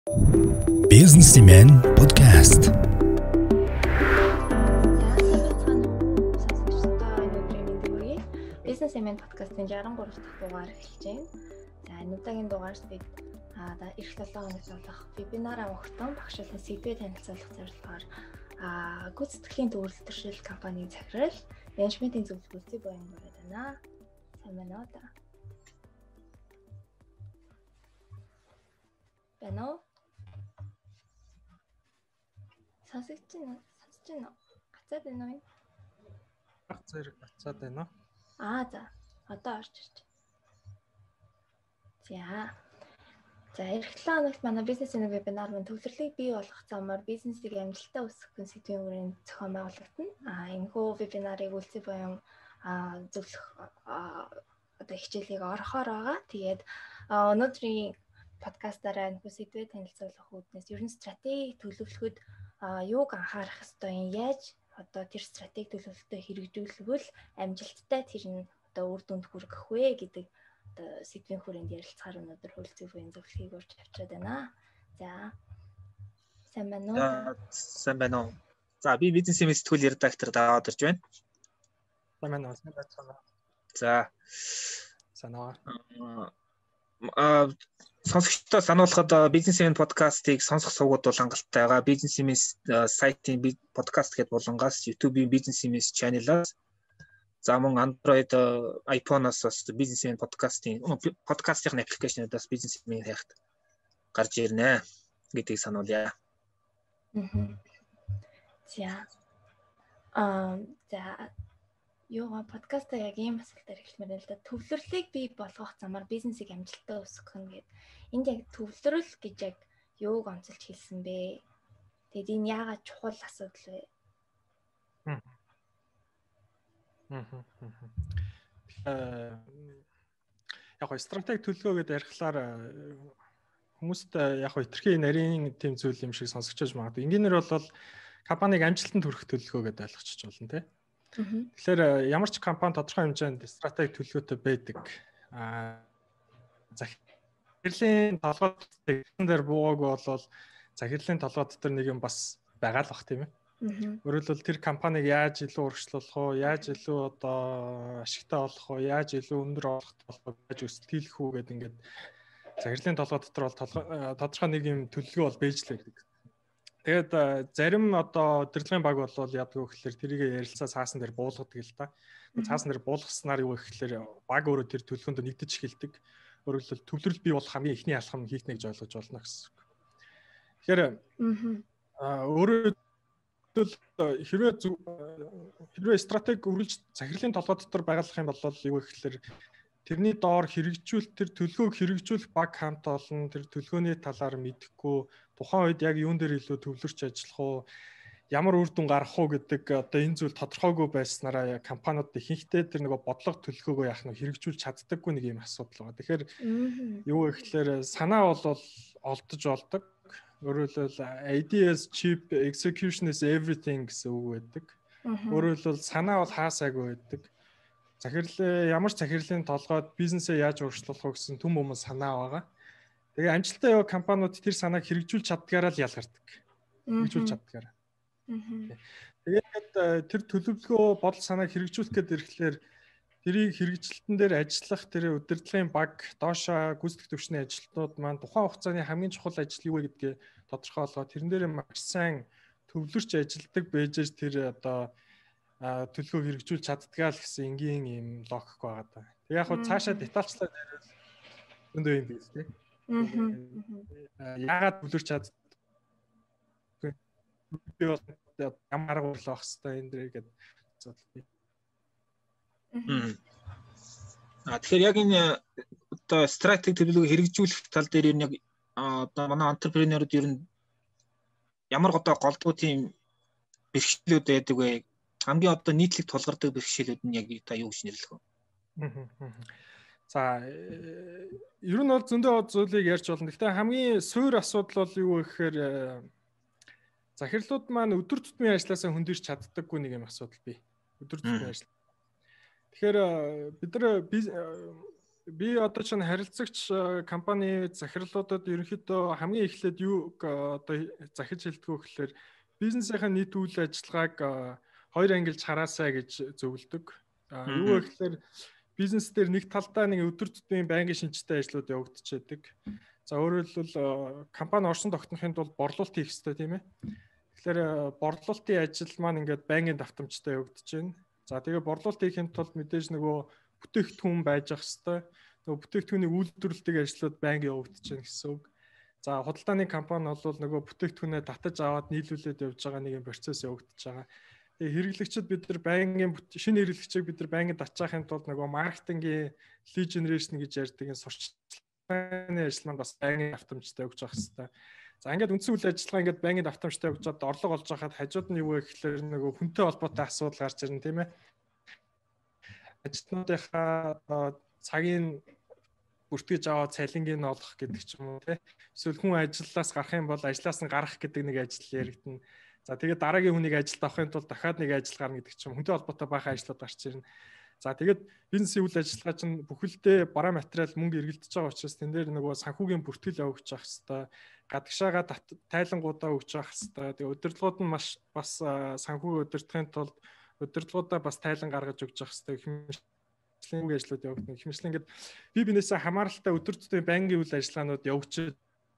Businessman podcast. Businessman podcast-ын 63 дахь дугаар эхэлж байна. За энэ удаагийн дугаарт бид эх 7 хоногт болох вебинар авахтан багшлалын сэдвээ танилцуулах зорилгоор гүйцэтгэлийн төвлөрөл компанийн захирал менежментийн зөвлөгөөтэй боён гараад байна. Сайн байна уу та? Байна уу? Сонсож байна уу? Гацаад байна уу? Зэрэг гацаад байна уу? За. Одоо орж ирж. За, эх 7 хоногт манай бизнесийн вебинар мөн төвлөрлийг бий болгох замаар бизнесийг амжилттай үүсгэх сэдвийн хүрээнд зохион байгуулагдана. Энэхүү вебинарыг үлцэн боён зөвлөх хичээлийг орохоор байгаа. Тэгээд өнөөдрийн подкастаараа энэхүү сэдвээ танилцуулах үүднээс ер нь стратеги төлөвлөхөд юуг анхаарах ёстой юм, яаж тэр стратеги төлөвлөлтөд хэрэгжүүлвэл амжилттай тэр нь үр дүнд хүрэх вэ гэдэг сэдвийн хүрээнд ярилцахаар өнөөдөр хөлцөг буян зөвлөхийг урьж авчираад байна. За. Сайн байна уу? Сайн байна уу? За, би бизнесийн сэтгүүл редактор даваад ирж байна. Сайн байна уу? Сайн байна. За. Санаа. Сонсогчдоо сануулхад бизнесийн подкастыг сонсох сувгууд бол хангалттай байгаа. Бизнесийн сайтын подкаст гэдэг болонгоос YouTube-ийн бизнесийн channel-аас за мөн Android, iPhone-оос бас бизнесийн подкастын аппликейшнуудаас бизнесийн хайхад гарч ирнэ гэдгийг сануулъя. За Йога подкаста яг ийм асуултаар эхлэмээр л да. Төвлөрлийг бий болгох замаар бизнесийг амжилттай үүсгэх нь гэдэг. Энд яг төвлөрөл гэж яг юуг онцолж хэлсэн бэ? Тэгэд энэ яагаад чухал асуудал вэ? Яг стратеги төлөвлөгөө гэдээ ярихлаар хүмүүст яг хитрхи нарийн тийм зүйл юм шиг сонсогчож магадгүй. Энгийнээр бол компаниг амжилтанд хүрэх төлөвлөгөө гэдээ ойлгочих болно тийм. Тэгэхээр ямар ч компани тодорхой хэмжээнд стратеги төлөвлөгөөтэй байдаг. Захирлын толгой дээр буугааг бол захирлын толгой дотор нэг юм бас байгаа л бах тийм ээ. Өөрөөр хэлбэл тэр компаниг яаж илүү урагшлуулах уу, яаж илүү ашигтай болох уу, яаж илүү өндөр олох уу, яаж өсөлтөөлөх үү гэдэг ингээд захирлын толгой дотор бол тодорхой нэг юм төлөвлөгөө бол бэж л байдаг. Тэгээд зарим удирдлагын баг бол яадаг вэ гэхээр тэрийг ярилцаа цаасан дээр буулгадаг л да. Цаасан дээр буулгаснаар юу вэ гэхээр баг өөрөө тэр төлөвлөгөөнд нэгдэж эхэлдэг. Өөрөөр хэлбэл төвлөрөл бий болох хамгийн ихний алхам хийхнэ гэж ойлгож болно гэсэн. Тэгэхээр өөрөө хэрвээ стратеги үргэлж захирлын толгой дотор байгалах юм бол юу вэ гэхээр тэрний доор хэрэгжүүлэлт тэр төлөвлөгөөг хэрэгжүүлэх баг хамт олон тэр төлөвлөгөөний талаар мэдэхгүй тухайн үед яг юун дээр илүү төвлөрч ажиллах уу ямар үр дүн гарах уу гэдэг энэ зүйл тодорхойгүй байснараа компаниуд ихэнхдээ тэр нэг бодлого төлөвлөгөөгөө яах нь хэрэгжүүлж чаддаггүй нэг юм асуудал байгаа. Тэгэхээр юу вэ гэхээр санаа бол олдож болдог. Өөрөөр хэлбэл ideas cheap, execution is everything гэсэн үг байдаг. Өөрөөр хэлбэл санаа бол хаасаагүй байдаг. Ямар ч захирлын толгойд бизнесээ яаж урагшлуулах вэ гэсэн түн бумын санаа байгаа. Тэгээ амжилттай яваа компаниуд тэр санааг хэрэгжүүлж чаддгаараа л ялгардаг. Хэрэгжүүлж чаддгаараа. Тэгээд тэр төлөвлөгөө бодол санааг хэрэгжүүлэх гээд ирэхлээр тэрийг хэрэгжилтэн дээр ажиллах тэр удирдлагын баг, доошоо гүйцэтгэх төвчний ажилтнууд маань тухайн хугацааны хамгийн чухал ажил юу вэ гэдгээ тодорхой болгоод тэрэн дээр маш сайн төвлөрч ажилдаг байжээж тэр төлөвлөгөө хэрэгжүүлж чаддгаа л гэсэн энгийн юм логик байгаа даа. Тэг яг хуу цаашаа детальчлаад ярил өндөө юм биш тийм. Яагаад төвлөрч чаддаг? Би бол ямар арга барил авах хэрэгтэй энэ дэр гэдэг асуудал. Тэгэхээр яг энэ стратеги төлөвлөгөө хэрэгжүүлэх тал дээр яг манай энтерпренерүүд ер нь ямар голдуу тийм бэрхшээлүүд байдаг вэ? Хамгийн нийтлэг тулгардаг бэрхшээлүүд нь яг юу гэж нэрлэх вэ? За ер нь бол зөндөө зүйлийг ярьж болно. Гэхдээ хамгийн суур асуудал бол юу вэ гэхээр захирлууд маань өдөр тутмын ажлаасаа хөндөрч чаддаггүй нэг юм асуудал бий. Өдөр тутмын ажил. Тэгэхээр бид нар Би одоо чинь харилцагч компани захирлуудад ерөнхийдөө хамгийн эхлээд юу одоо захиж хэлдэг вэ гэхээр бизнесийнхаа нийт үйл ажиллагааг хоёр ангилж хараасаа гэж зөвлөдөг. Юу вэ гэхээр бизнес дээр нэг талдаа нэг өдөр тутмын байнгын шинжтэй ажлууд явагдчихэдэг. За өөрөөр хэлбэл компани оршин тогтнохын тулд борлуулалт хийх хэрэгтэй тийм ээ. Тэгэхээр борлуулалтын ажил маань ингээд байнгын давтамжтай явагдаж байна. За тэгээ борлуулалт хийхин тулд мэдээж нөгөө бүтээгдэхүүн байж ах хэвээр нөгөө бүтээгдэхүүнийг үйлдвэрлэдэг ажлууд байнга явагдаж байна гэсэн үг. За худалдааны компани бол нөгөө бүтээгдэхүүнээ татаж аваад нийлүүлээд явж байгаа нэг юм процесс явагдаж байгаа. Тэгээ хэрэглэгчид бид нар байнгын шинэ хэрэглэгчийг бид нар байнгын татчихын тулд нөгөө маркетингийн lead generation гэж ярьдаг энэ сурчлагын ажил маань бас байнгын автоматтай явж байгаа хэвээр. За ингээд үндсэн үйл ажиллагаа ингээд байнгын автоматтай явж чад орлого олж байхад хажууд нь юу вэ гэхээр нөгөө хүнтэй холбоотой асуудал гарч ирнэ тийм ээ. Ажилтнуудынхаа цагийн бүртгэж аваад цалингийн олох гэдэг ч юм уу тий. Эсвэл хүн ажлаас гарах юм бол ажлаас нь гарах гэдэг нэг ажил яригдана. За тэгээд дараагийн хүнийг ажилд авахын тулд дахиад нэг ажил гарна гэдэг ч юм. Хүнтэй холбоотой баахан ажлууд гарч ирнэ. За тэгээд бизнесийн үйл ажиллагаа чинь бүхэлдээ бараа материал мөнгө эргэлдэж байгаа учраас тэн дээр нөгөө санхүүгийн бүртгэл явуулж явах хэвээр гадагшаага тайлангуудаа өгч явах хэвээр. Тэгээд удирдлагууд нь бас санхүүг удирдахын тулд удирдлагуудаа бас тайлан гаргаж өгч явах хэвээр хэмжлэн ажлууд явагдана. Хэмжлэн ингээд бинээсээ хамааралтай өдөр тутмын байнгын үйл ажиллагаанууд явагдаж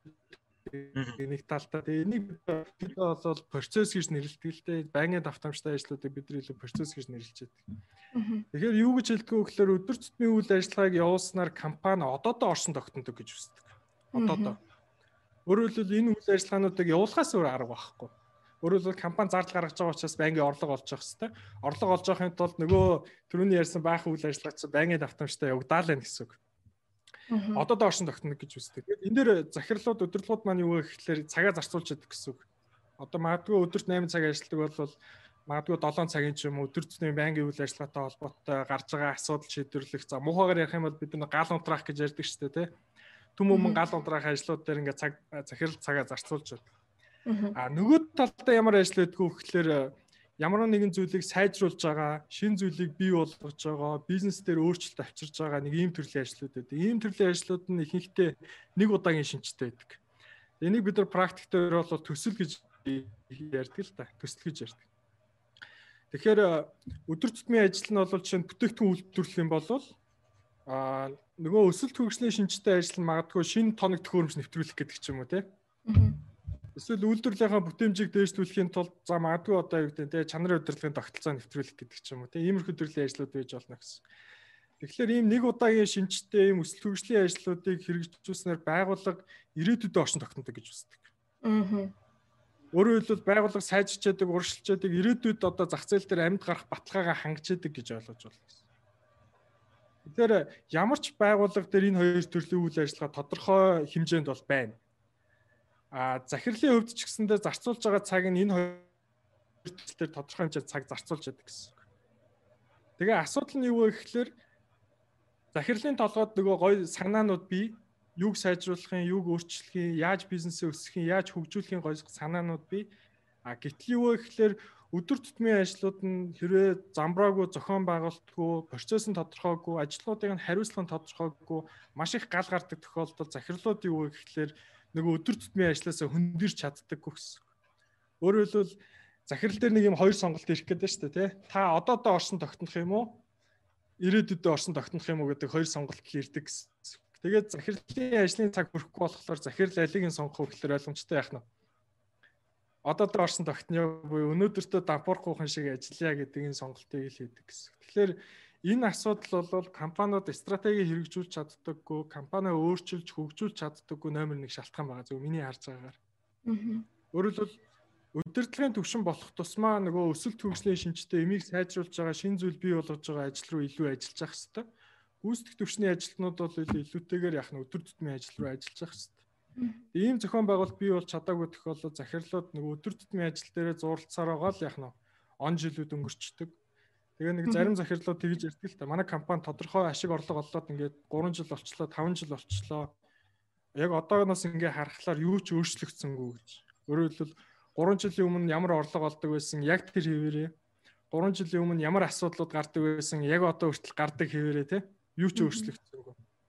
нэг талдаа энийг бид бол процесс гэж нэрлэдэг л дээ. Байнгын давтамжтай ажлуудыг бид илүү процесс гэж нэрлэж байдаг. Тэгэхээр юу гэж хэлдэг вэ гэхээр өдөр тутмын үйл ажиллагааг явуулснаар компани одоодоо оршин тогтнодог гэж үздэг. Одоодоо. Өөрөөр хэлбэл энэ үйл ажиллагаануудыг явуулахаас өөр арга байхгүй. Өөрөөр хэлбэл компани зардал гаргаж байгаа учраас байнгын орлого олж явах хэрэгтэй. Орлого олж авахын тулд нөгөө түрүүний ярьсан баахан үйл ажиллагаа чинь байнгын давтамжтай явагдаа л байна гэсэн үг. Одоодоо оршин тогтнох гэж үздэг. Энэ дээр захирлууд удирдлагууд маань юу вэ гэхээр цагаа зарцуулж яадаг гэсэн үг. Одоо магадгүй өдөрт 8 цаг ажилладаг бол магадгүй 7 цагийн ч юм өдөр тутмын байнгын үйл ажиллагаатай холбоотой гарч байгаа асуудал шийдвэрлэх. За муухайгаар ярих юм бол бид нэг гал унтраах гэж ярьдаг шүү дээ, тий. Түм өмнө гал унтраах ажлууд дээр ингээд захирал цагаа зарцуулж байдаг. Нөгөө талдаа ямар ажил байдг вэ гэхээр ямар нэгэн зүйлийг сайжруулж байгаа, шинэ зүйлийг бий болгож байгаа, бизнес дээр өөрчлөлт авчирж байгаа нэг ийм төрлийн ажлууд байдаг. Ийм төрлийн ажлууд нь ихэнхдээ нэг удаагийн шинжтэй байдаг. Энийг бид нар практик дээр бол төсөл гэж ярьдаг л та. Төсөл гэж ярьдаг. Тэгэхээр өдөр тутмын ажил нь бол чинь бүтээгдэхүүн үйлдвэрлэх юм бол нөгөө өсөлт хөгжлийн шинжтэй ажил нь магадгүй шинэ тоног төхөөрөмж нэвтрүүлэх гэдэг ч юм уу те. Эсвэл үйлдвэрлэлийнхаа бүтээмжийг дээшлүүлэхийн тулд за магадгүй одоо юу гэдэг те чанарын удирдлагын тогтолцоо нэвтрүүлэх гэдэг ч юм уу те. Иймэрхүү төрлийн ажлууд байж болно гэсэн. Тэгэхээр ийм нэг удаагийн шинжтэй ийм өсөлт хөгжлийн ажлуудыг хэрэгжүүлснээр байгууллага ирээдүйд оршин тогтнодог гэж үздэг. Өөрөөр хэлбэл байгууллага сайжирч яадаг, урагшилж яадаг, ирээдүйд одоо зах зээл дээр амьд гарах баталгаагаа хангаж яадаг гэж ойлгож байна гэсэн. Тэгэхээр ямар ч байгууллага дээр энэ хоёр төрлийн үйл ажиллагаа тодорхой хэмжээнд бол байна. Захирлын хувьд ч гэсэндээ зарцуулж байгаа цаг нь энэ хоёр дээр тодорхой хэмжээнд цаг зарцуулж яадаг гэсэн. Тэгээ асуудал нь юу вэ гэхээр захирлын толгойд нөгөө гоё санаанууд бий, юуг сайжруулахын, юуг өөрчлөхийн, яаж бизнесээ өсгөхийн, яаж хөгжүүлэхийн гоё санаанууд бий. Гэтэл юу вэ гэхээр өдөр тутмын ажлууд нь хэрвээ замбраагүй, зохион байгуулалтгүй, процесс нь тодорхойгүй, ажлуудын хариуцлага нь тодорхойгүй, маш их гал гардаг тохиолдолд захирлууд юу вэ гэхээр нөгөө өдөр тутмын ажлаасаа хөндөрч чаддаггүй гэсэн. Өөрөөр хэлбэл захирал дээр нэг юм хоёр сонголт ирэх гэдэг шүү дээ, тий. Та одоодоо оршин тогтнох юм уу? Ирээдүйд оршин тогтнох юм уу гэдэг хоёр сонголт ирдэг гэсэн. Тэгээд захирлын ажлын цаг хүрэхгүй болохоор захирал алиг нь сонгох вэ гэхээр ойлгомжтой яах нь. Одоодоо оршин тогтно буюу өнөөдөртөө дампуурхүйхэн шиг ажиллая гэдэг энэ сонголтыг л хийдэг гэсэн. Тэгэхээр энэ асуудал бол компаниуд стратеги хэрэгжүүлж чаддаггүй, компани өөрчилж хөгжүүлж чаддаггүй номер 1 шалтгаан байгаа зөв миний харж байгаагаар. Өөрөөр хэлбэл удирдлагын төвшин болох тусмаа нөгөө өсөлт хөгжлийн шинжтэй эмийг сайжруулж байгаа шинэ зүйл бий болгож байгаа ажил руу илүү ажиллаж явах хэрэгтэй. Гүйцэтгэх төвчний ажилтнууд бол илүүтэйгээр яах нь өдөр тутмын ажил руу ажиллаж явах хэрэгтэй. Ийм зохион байгуулалт бий болж чадаагүй тохиолдолд захирлууд нөгөө өдөр тутмын ажил дээрээ зурлцаар байгаа л яах нь он жилүүд өнгөрчдөг. Тэгээ нэг зарим захирлууд тэгж ярьдаг л та. Манай компани тодорхой ашиг орлого олоод ингээд 3 жил болчлоо, 5 жил болчлоо. Яг одоогоос ингээд харахаар юу ч өөрчлөгдсөнгүй гэж. Өөрөөр хэлбэл 3 жилийн өмнө ямар орлого олдог байсан яг тэр хэвээрээ. 3 жилийн өмнө ямар асуудлууд гардаг байсан яг одоо хүртэл гардаг хэвээрээ тий. Юу ч өөрчлөгдсөнгүй.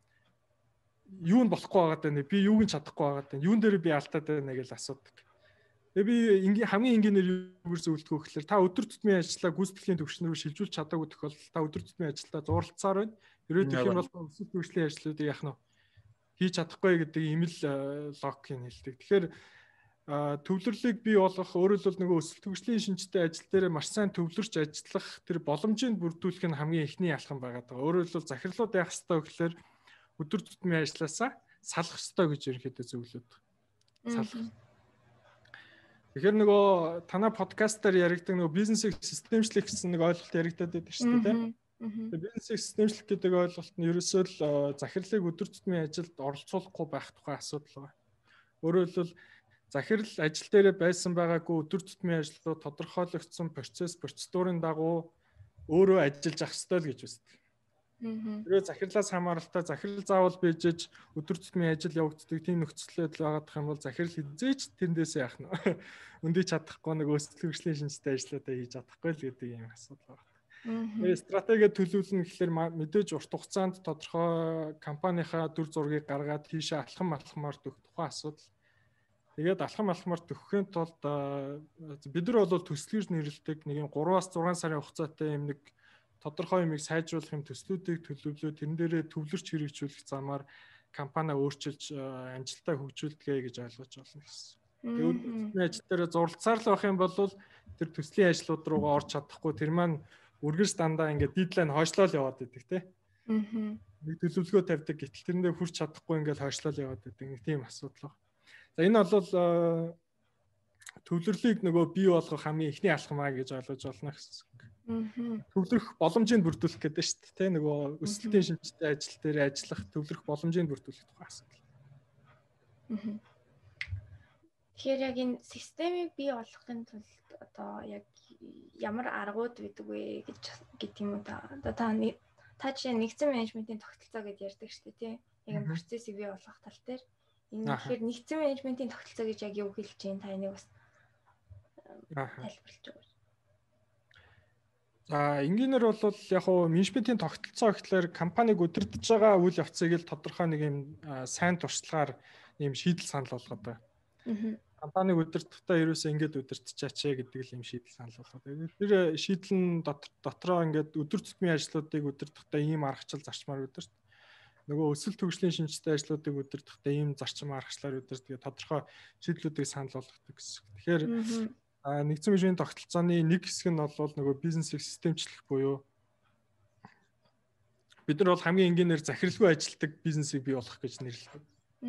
юу нь болохгүй байгаад байна. Би юуг нь чадахгүй байгаад байна. Юун дээр би алдаад байна гэж асуудаг. Тэгээ би хамгийн энгийнээр юугаар зөвлөдгөө гэхээр та өдөр тутмын ажлаа гүйцэтгэлийн төвшин рүү шилжүүлж чадаагүй тохиолдолд та өдөр тутмын ажилдаа зурлацаар байна. Ерөөдөх юм бол өсвөл төвшлийн ажлуудыг яах нь хийж чадахгүй гэдэг ийм л логикийг хэлдэг. Тэгэхээр төвлөрлийг бий болгох өөрөөр хэлбэл нөгөө өсвөл төвшлийн шинжтэй ажил дээр маш сайн төвлөрч ажиллах тэр боломжийг бүрдүүлэх нь хамгийн эхний алхам байгаад байгаа. Өөрөөр хэлбэл захирлууд яах ёстой гэхээр өдөр тутмын ажлаасаа салах ёстой гэж ерөнхийдөө зөвлөд. Салах. Тэгэхээр нөгөө танай подкастаар яригдаг нөгөө бизнесийг системчлэх гэсэн нэг ойлголт яригдаад байдаг шүү дээ. Тэгээ бизнесийг системчлэх гэдэг ойлголт нь ерөөсөө л захирлыг өдөр тутмын ажилд оролцуулахгүй байх тухай асуудал байна. Өөрөөр хэлбэл захирал ажил дээрээ байсан байгаагүй өдөр тутмын ажлууд тодорхойлогдсон процедурын дагуу өөрөө ажиллаж ах ёстой л гэж үздэг. Тэрээ захирлаас хамааралтай захирал заавал бийжж өдөр тутмын ажил явагддаг тийм нөхцөлөд байгаадах юм бол захирал хизээч тэндээсээ яах нь өндий чадахгүй нэг өсөлт хөгжлийн шинжтэй ажлуудаа хийж чадахгүй л гэдэг юм асуудал байна. Стратеги төлөвлөн гэхэлэр мэдээж урт хугацаанд тодорхой компанийнхаа дүр зургийг гаргаад тийшээ алхамаар төгөх тухайн асуудал. Тэгээд алхамаар төгөхийн тулд бид нар бол төслөж нэрлэдэг нэг 3-аас 6 сарын хугацаатай юм нэг тодорхой юмыг сайжруулах юм төслүүдийг төлөвлөө тэрэн дээрээ төвлөрч хэрэгжүүлэх замаар компани өөрчилж амжилтаа хөгжүүлдэгэ гэж ойлгож байна гэсэн. Тэгээд төслийн ажил дээр зурлацаар л байх юм бол тэр төслийн ажлууд руугаа орж чадахгүй тэр маань үргэлж дандаа ингээд дедлайн хойшлол яваад байдаг тий. Нэг төлөвлөгөө тавьдаг гэтэл тэрэндээ хүрч чадахгүй ингээд хойшлол яваад байдаг нэг тийм асуудал байна. За энэ бол төвлөрлийг нөгөө бий болгох хамгийн эхний алхам аа гэж ойлгож байна гэсэн. Төвлөрөх боломжийг бүрдүүлэх гэдэг шүү дээ. Нөгөө өсөлтийн шинжтэй ажил дээр ажиллах төвлөрөх боломжийг бүрдүүлэх тухай асуудал. Тэгэхээр яг энэ системийг бий болгохын тулд одоо яг ямар аргууд байдаг вэ гэдэг юм уу та. Одоо та жишээ нэгдсэн менежментийн тогтолцоо гэж ярьдаг шүү дээ тий. Яг энэ процессыг бий болгох тал дээр энэ тэгэхээр нэгдсэн менежментийн тогтолцоо гэж яг юу хэлж чинь та энийг бас тайлбарлаж өгөөч. За энгийнээр бол яг хуу менежментийн тогтолцоо гэхлээр компаниг удирдах байгаа үйл явцыг л тодорхой нэг юм сайн туршлагаар юм шийдэл санал болгоод байна. Компаниг удирдахдаа ерөөсөө ингэж удирдчаач гэдэг л юм шийдэл санал болгоод байна. Тэр шийдэл нь дотроо ингэж өдөр тутмын ажлуудыг удирдахдаа ийм аргачлал зарчмаар удирд. Нөгөө өсөлт хөгжлийн шинжтэй ажлуудыг удирдахдаа ийм зарчим аргачлалаар удирддаг тодорхой шийдлүүдийг санал болгодог гэсэн. Тэгэхээр нэгдсэн менежментийн тогтолцооны нэг хэсэг нь бол нөгөө бизнесийг системчлэх буюу бид нар бол хамгийн энгийнээр захирлгүй ажилтдаг бизнесийг бий болгох гэж нэрлэдэг.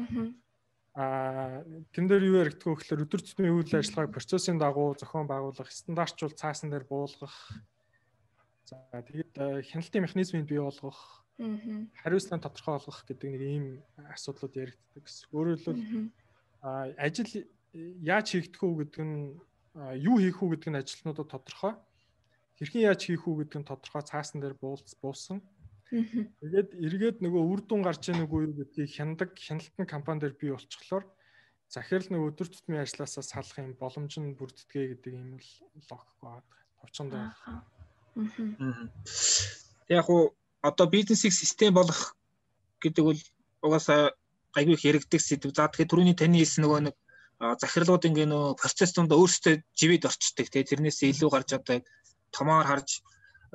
Тэн дээр юу яригддаг вэ гэхээр өдөр тутмын үйл ажиллагааг процессын дагуу зохион байгуулах, стандартчул цаасан дээр буулгах. За тэгээд хяналтын механизмыг бий болгох, хариуцлага тодорхой болгох гэдэг нэг ийм асуудлууд яригддаг гэсэн. Өөрөөр хэлбэл ажил яаж хийгдэх үү гэдэг нь юу хийх үү гэдэг нь ажилтнуудад тодорхой. Хэрхэн яаж хийх үү гэдэг нь тодорхой цаасан дээр буулсан. Тэгээд эргээд нөгөө үр дүн гарч ийн үгүй юу гэдгийг хяналтын компани дээр бий болчихлоор захирал нөгөө өдөр тутмын ажлаасаа салах юм боломж нь бүрддэгэ гэдэг юм л логик байгаа. Товчонд байна. Яг уу одоо бизнесийг систем болгох гэдэг бол угаасаа айгүй их яригддаг сэдв. За тэгэхээр түрүүний таны хэлсэн нөгөө нэг захирлууд ингээ нөө процесс донд өөрсдөө живэд орчдөг тий тэрнээс илүү гарч одоо томоор харж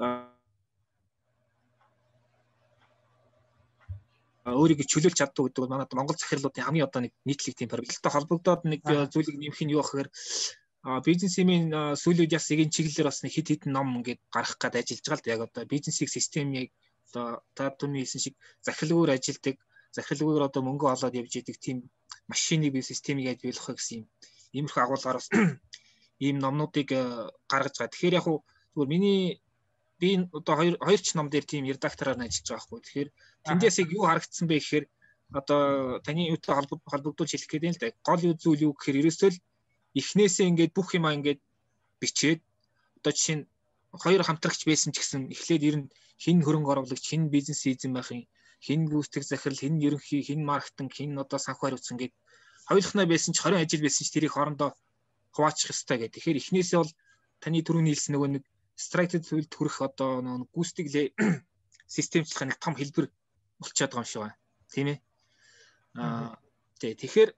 өөрийгөө чөлөөлж чаддаг гэдэг бол манайд Монгол захирлуудын хамгийн одоо нэг нийтлэг тийм проблемтай холбогдоод нэг зүйлийг нэмэх нь юу гэхээр бизнесийн сүүлийн яс эгийн чиглэлээр бас нэг хит хитэн ном ингээд гаргах гээд ажиллаж байгаа л да яг одоо бизнесийг системийг одоо та түрүүний хэлсэн шиг захирлгүйгээр ажилдаг захирлгүйгээр одоо мөнгө олоод явж идэг тийм машиныг бий системийг яаж бий болгох гэсэн юм иймэрхүү агуулгаар бас ийм номнуудыг гаргаж байгаа. Тэгэхээр яг хуу зүгээр би одоо хоёр ч ном дээр тийм редактораар ажиллаж байгаа хгүй. Тэгэхээр тэндээс юу харагдсан бэ гэхээр одоо таны юутай холбогдуулж хэлэх гэдэг юм л да. Гол зүйл юу гэхээр ерөөсөө л эхнээсээ ингээд бүх юмаа ингээд бичээд одоо жишээ нь хоёр хамтрагч байсан ч гэсэн эхлээд ер нь хин хөрөнгө оруулагч, хин бизнес эзэн байх юм, хин гүйцэтгэх захирал, хин ерөнхий, хин маркетинг, хин одоо санхүү хариуцсан ингээд хоёулахнаа байсан ч 20 ажил байсан ч тэрийг хоорондоо хуваачих ёстой гэдэг. Тэгэхээр эхнээсээ бол таны түрүүний хэлсэн нөгөө нэг structured төлөлд хүрэх одоо нөгөө гүйцэтгэх системчлэх нэг том хэлбэр болчиход байгаа юм шиг байна. Тийм ээ. Тий. Тэгэхээр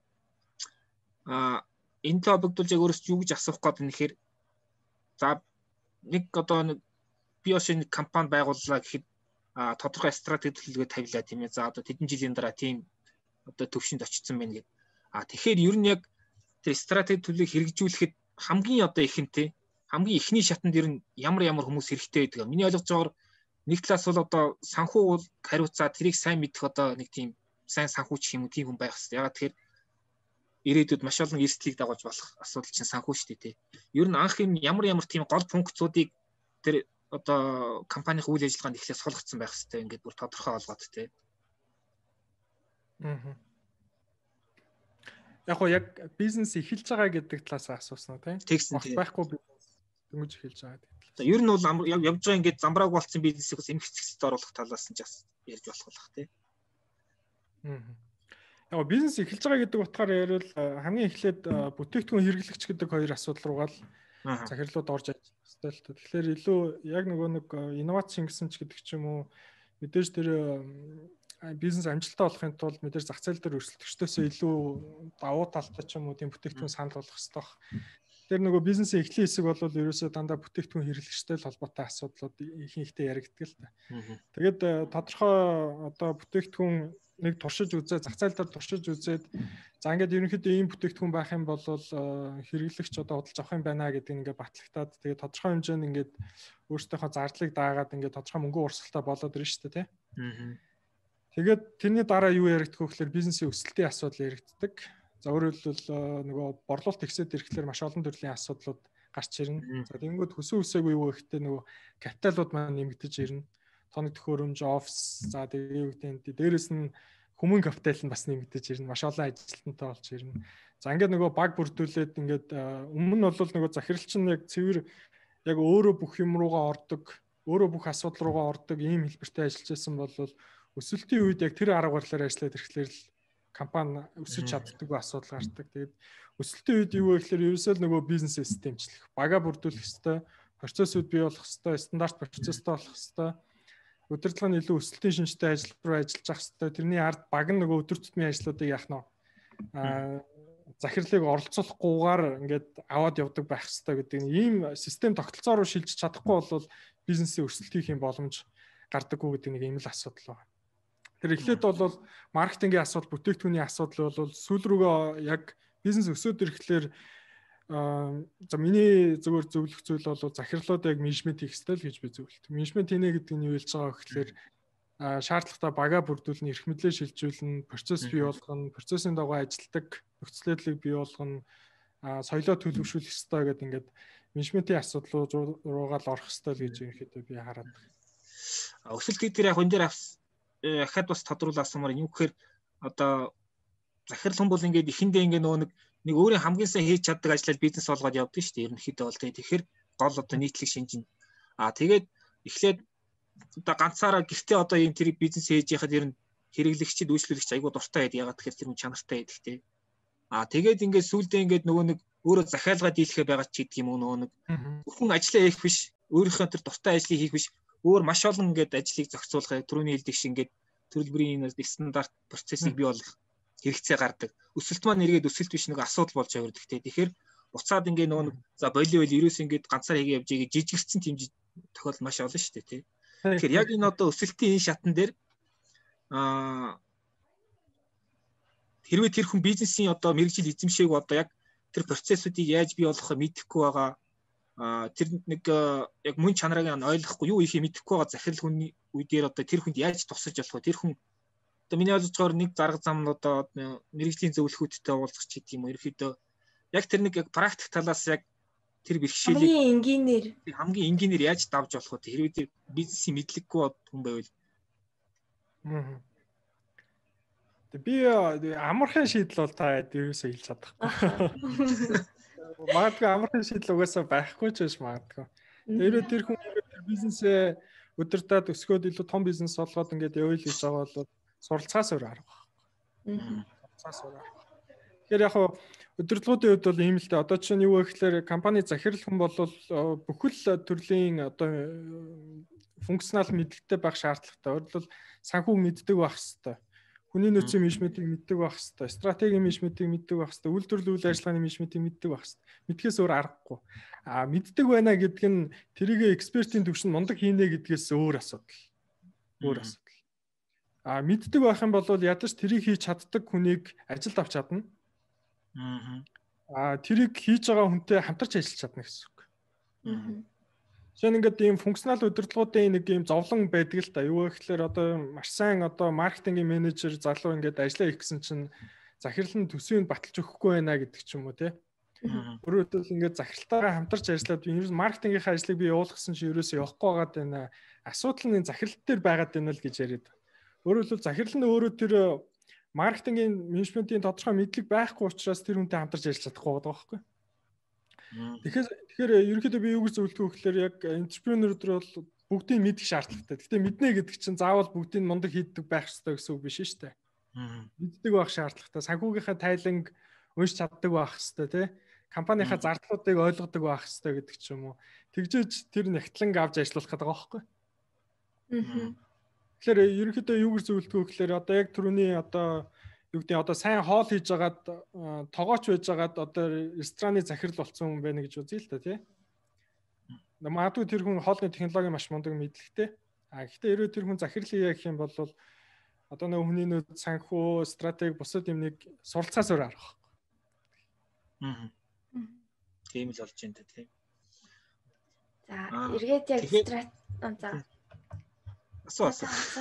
энэ холбогдуулж яг өөрөөс юу гэж асуух гээд нэхэр за нэг одоо нэг би ошин компани байгууллаа гэхэд тодорхой стратеги төлөвлөгөө тавилаа тийм ээ. За одоо тэдэн жилийн дараа тийм одоо төвшөнд очсон байна гэдэг. Тэгэхээр ер нь яг тэр стратеги төлөвлөгөө хэрэгжүүлэхэд хамгийн одоо ихэнтэй хамгийн ихний шатанд ер нь ямар хүмүүс хэрэгтэй байдаг. Миний ойлгож байгаагаар нэг талаас бол одоо санхүү хариуцаа тэрийг сайн мэдэх одоо нэг тийм сайн санхүүч юм уу тийм хүн байх хэрэгтэй. Ягаад тэгэхээр ирээдүйд маш олон эрсдлийг дагуулж болох асуудал чинь санхүү шүү дээ. Ер нь анх юм ямар тийм гол функцуудыг тэр одоо компанийн үйл ажиллагаанд эхлээд суулгацсан байх хэрэгтэй. Ингээд бүр тодорхой олгоод тий. Яг бизнес эхэлж байгаа гэдэг талаас асуусан тийм. Байхгүй бизнес дөнгөж эхэлж байгаа гэдэг талаас. Ер нь бол явж байгаа ингээд замбрааг болцсон бизнесийг бас эмх хэсэгт оруулах талаас нь ч бас ярьж болох байх тий. Бизнес эхэлж байгаа гэдэг утгаар ярил хамгийн эхлээд бүтээгдэхүүн хэрэглэгч гэдэг хоёр асуудал руугаа л захирлууд орж ажиллах хэрэгтэй л тоо. Тэгэхээр илүү яг нэг инновац шингэсэн ч гэдэг ч юм уу мэдээж тэр бизнес амжилттай болохын тулд мэдээж зах зээл дээр өрсөлдөгчдөөсөө илүү давуу талтай ч юм уу тийм бүтээгдэхүүн санал болгох хэрэгтэй баг. Тэр бизнесийн эхлэн хэсэг бол ерөөсөө дандаа бүтээгдэхүүн хэрэглэгчтэй л холбоотой асуудлууд ихэнхдээ яригддаг л та. Тэгээд тодорхой одоо бүтээгдэхүүн нэг туршиж үзээд зах зээл дээр туршиж үзээд за ингээд ерөнхийдөө ийм бүтээгдэхүүн байх юм бол хэрэглэгч одоо худалдаж авах юм байна гэдэг ингээд батлагтаад тэгээд тодорхой хэмжээнд ингээд өөрсдийнхөө зардлыг даагаад ингээд тодорхой мөнгө урсгалтай болоод ирнэ шүү дээ тий. Тэгээд тэрний дараа юу яригдэх вэ гэхээр бизнесийн өсөлтийн асуудал яригддаг. За өөрөөр хэлбэл борлуулалт ихсээд ирэхлээр маш олон төрлийн асуудлууд гарч ирнэ. За тэгэнгүүт хөсөө үсээгүй юу гэхдээ капиталууд маань нэмэгдэж ирнэ. Тоног төхөөрөмж, офис, за тэгээд дээрээс нь хүмүүн капитал нь бас нэмэгдэж ирнэ. Маш олон ажилтнтай болж ирнэ. За ингээд баг бүрдүүлээд ингээд өмнө нь бол захиралч нь яг цэвэр яг өөрөө бүх юм руугаа ордог, өөрөө бүх асуудал руугаа ордог ийм хэлбэртэй ажиллаж байсан бол өсөлтийн үед яг тэр арга барилаар ажиллаад ирэхлээр л компани өсөж чаддаг асуудал гардаг. Тэгээд өсөлтийн үед юу вэ гэхээр ерөөсөө л бизнес системчлэх, бага бүрдүүлэх хэвээр, процессыг бий болгох хэвээр, стандарт процесстэй болох хэвээр, удирдлага нь илүү өсөлтийн шинжтэй ажил руу ажиллаж ах хэвээр. Тэрний ард баг нь өдөр тутмын ажлуудыг яах нь захирлыг оролцуулахгүйгээр ингээд аваад явдаг байх хэвээр гэдэг ийм систем тогтолцоо руу шилжиж чадахгүй бол бизнесийн өсөлт хийх юм боломж гардаггүй гэдэг нэг ийм л асуудал байна. Тэр эхлээд бол маркетингийн асуудал, бүтээгдэхүүний асуудал бол сүүл рүүгээ яг бизнес өсөд ирэхлээр за миний зөвхөн зөвлөх зүйл бол захирлууд яг менежмент хийх хэрэгтэй л гэж би зөвлөлт. Менежмент хийнэ гэдэг нь юу хэлж байгаа гэхээр шаардлагатай бага бүрдүүлнэ, эрх мэдлээ шилжүүлнэ, процесс бий болгоно, процессын дагуу ажилтдаг нөхцөлөдлийг бий болгоно, соёлоо төлөвшүүлэх хэрэгтэй гэдэг ингээд менежментийн асуудлууд руугаа л орох хэрэгтэй л гэж ерөнхийдөө би хараад байна. Өсөлт гэдэг яг энэ дээр ахад бас тодруулаасмаар юм гэхээр одоо захирал хүн бол ингээд ихэндээ ингээд нэг өөрийн хамгийн сайн хийж чаддаг ажлаар бизнес болгоод явдаг шүү дээ. Ерөнхийдөө бол тэгэхээр гол одоо нийтлэг шинжин. Тэгээд эхлээд одоо ганцаараа гэртээ одоо ийм тэр бизнес хийж яхад ер нь хэрэглэгчид үйлчлүүлэгч айгуу дуртай байдаг. Ягаад тэгэхээр тэр нь чанартай байдаг тий. Тэгээд ингээд сүулдэ ингээд нэг өөрөө захиалгаа дийлэхэ байгаа ч гэдэг юм уу зөвхөн ажлаа хийх биш, өөрийнхөө тэр дуртай ажлыг хийх биш, өөр маш олон ингээд ажлыг зохицуулах, түрүүний хэлдэг шиг ингээд төрөлбөрийн стандарт процессыг бий болгох хэрэгцээ гардаг. Өсөлт маань эргээд өсөлт биш нэг асуудал болж явагддаг тий. Тэгэхээр буцаад ингээд за болио ерөөс ингээд ганцаар хийгээ явж игээ жижигэрсэн тийм тохиолдол маш олон шүү дээ тий. Тэгэхээр яг энэ одоо өсөлтийн энэ шатан дээр хэрвээ тэр хүн бизнесийн одоо мэргэжил эзэмшээг одоо яг тэр процессуудыг яаж бий болгохыг мэдэхгүй байгаа тэр нэг яг мөн чанарыг ойлгохгүй юу ихийг мэдэхгүй байгаа захирал хүний үе дээр одоо тэр хүнд яаж тусаж болох вэ? Тэр хүн одоо миний ойлгож байгаагаар нэг зарга зам нь одоо мэргэжлийн зөвлөхүүдтэй уулзах ч гэдэг юм уу. Ерөөхдөө яг тэр нэг яг практик талаас яг тэр бэрхшээлийг хамгийн энгийнээр яаж давж болох вэ? Хэрвээ тэр бизнесийн мэдлэггүй хүн байвал би амархан шийдэл бол та ерөөсөө хэлж чадахгүй. Магадгүй амархан шийдэл угаасаа байхгүй ч биш магадгүй. Тэрээ тэр хүн бизнесээ өдөртөө өсгөөд илүү том бизнес болгоод ингээд явъя гэж байгаа бол суралцаас өөр арга байна. Тэгэхээр яг удирдлагуудын хувьд бол ийм л дээ. Одоо чинь юу вэ гэхээр компани захирал хүн бол бүхэл төрлийн одоо функционал мэдлэгтэй байх шаардлагатай. Өөрөлдвөл санхүүг мэддэг байх хэрэгтэй. хүний нөөцийн менежментийг мэддэг байх хэрэгтэй, стратегийн менежментийг мэддэг байх хэрэгтэй, үйлдвэрлэлийн үйл ажиллагааны менежментийг мэддэг байх хэрэгтэй. Мэдхээс өөр аргагүй. Мэддэг байна гэдг нь тэрийг экспертийн төвшин мундаг хийнэ гэдгээс өөр асуудал. Өөр асуудал. Мэддэг байх юм бол ядаж тэрийг хийж чаддаг хүнийг ажилд авч чадна. Тэрийг хийж байгаа хүнтэй хамтарч ажиллаж чадна гэсэн үг. Жишээ нь ингээд ийм функционал удирдлагуудын нэг ийм зовлон байдаг л та. Юу гэхээр одоо маш сайн одоо маркетингийн менежер залуу ингээд ажиллаа хийх гэсэн чинь захирал нь төсвийг баталж өгөхгүй байна гэдэг ч юм уу те. Өөрөөр хэлбэл ингээд захиралтайгаа хамтарч ажиллаад би ерөөс маркетингийнхаа ажлыг би явуулах гэсэн чинь ерөөсөө явахгүй байгаад байна. Асуудал нь захиралт дээр байгаад байна л гэж яриад. Өөрөөр хэлбэл захирал нь өөрөө тэр маркетингийн менежментийн тодорхой мэдлэг байхгүй учраас тэр хүнтэй хамтарч ажиллаж чадахгүй байгаа байхгүй. Тэгэхээр ерөнхийдөө би юу гэж зөвлөдөг вэ гэхээр яг энтерпренeur дээр бол бүгдийг мэдэх шаардлагатай. Гэхдээ мэднэ гэдэг чинь заавал бүгдийг мундаг хийдэг байх ёстой гэсэн үг биш шүү дээ. Мэддэг байх шаардлагатай. Санхүүгийнхаа тайланг уншиж чаддаг байх ёстой тий. Компанийнхаа зардлуудыг ойлгодог байх ёстой гэдэг ч юм уу. Тэгжээж тэр нягтлан авч ажиллах гэдэг байгаа байхгүй. Тэгэхээр ерөнхийдөө юу гэж зөвлөдөг вэ гэхээр одоо яг түрүүний одоо юу гэдэг одоо сайн хоол хийж агаад тоогооч байж агаад одоо рестораны захирал болсон хүн байна гэж үзье л та тий. Магадгүй тэр хүн хоолны технологи маш мундаг мэдлэгтэй. Гэхдээ ерөө тэр хүн захирал хийх юм бол одоо нэг хүний нөөц санхүү, стратеги бусад юмныг суралцаас өөр арах. Тийм л болж байна тийм. За эргээд яг асуу.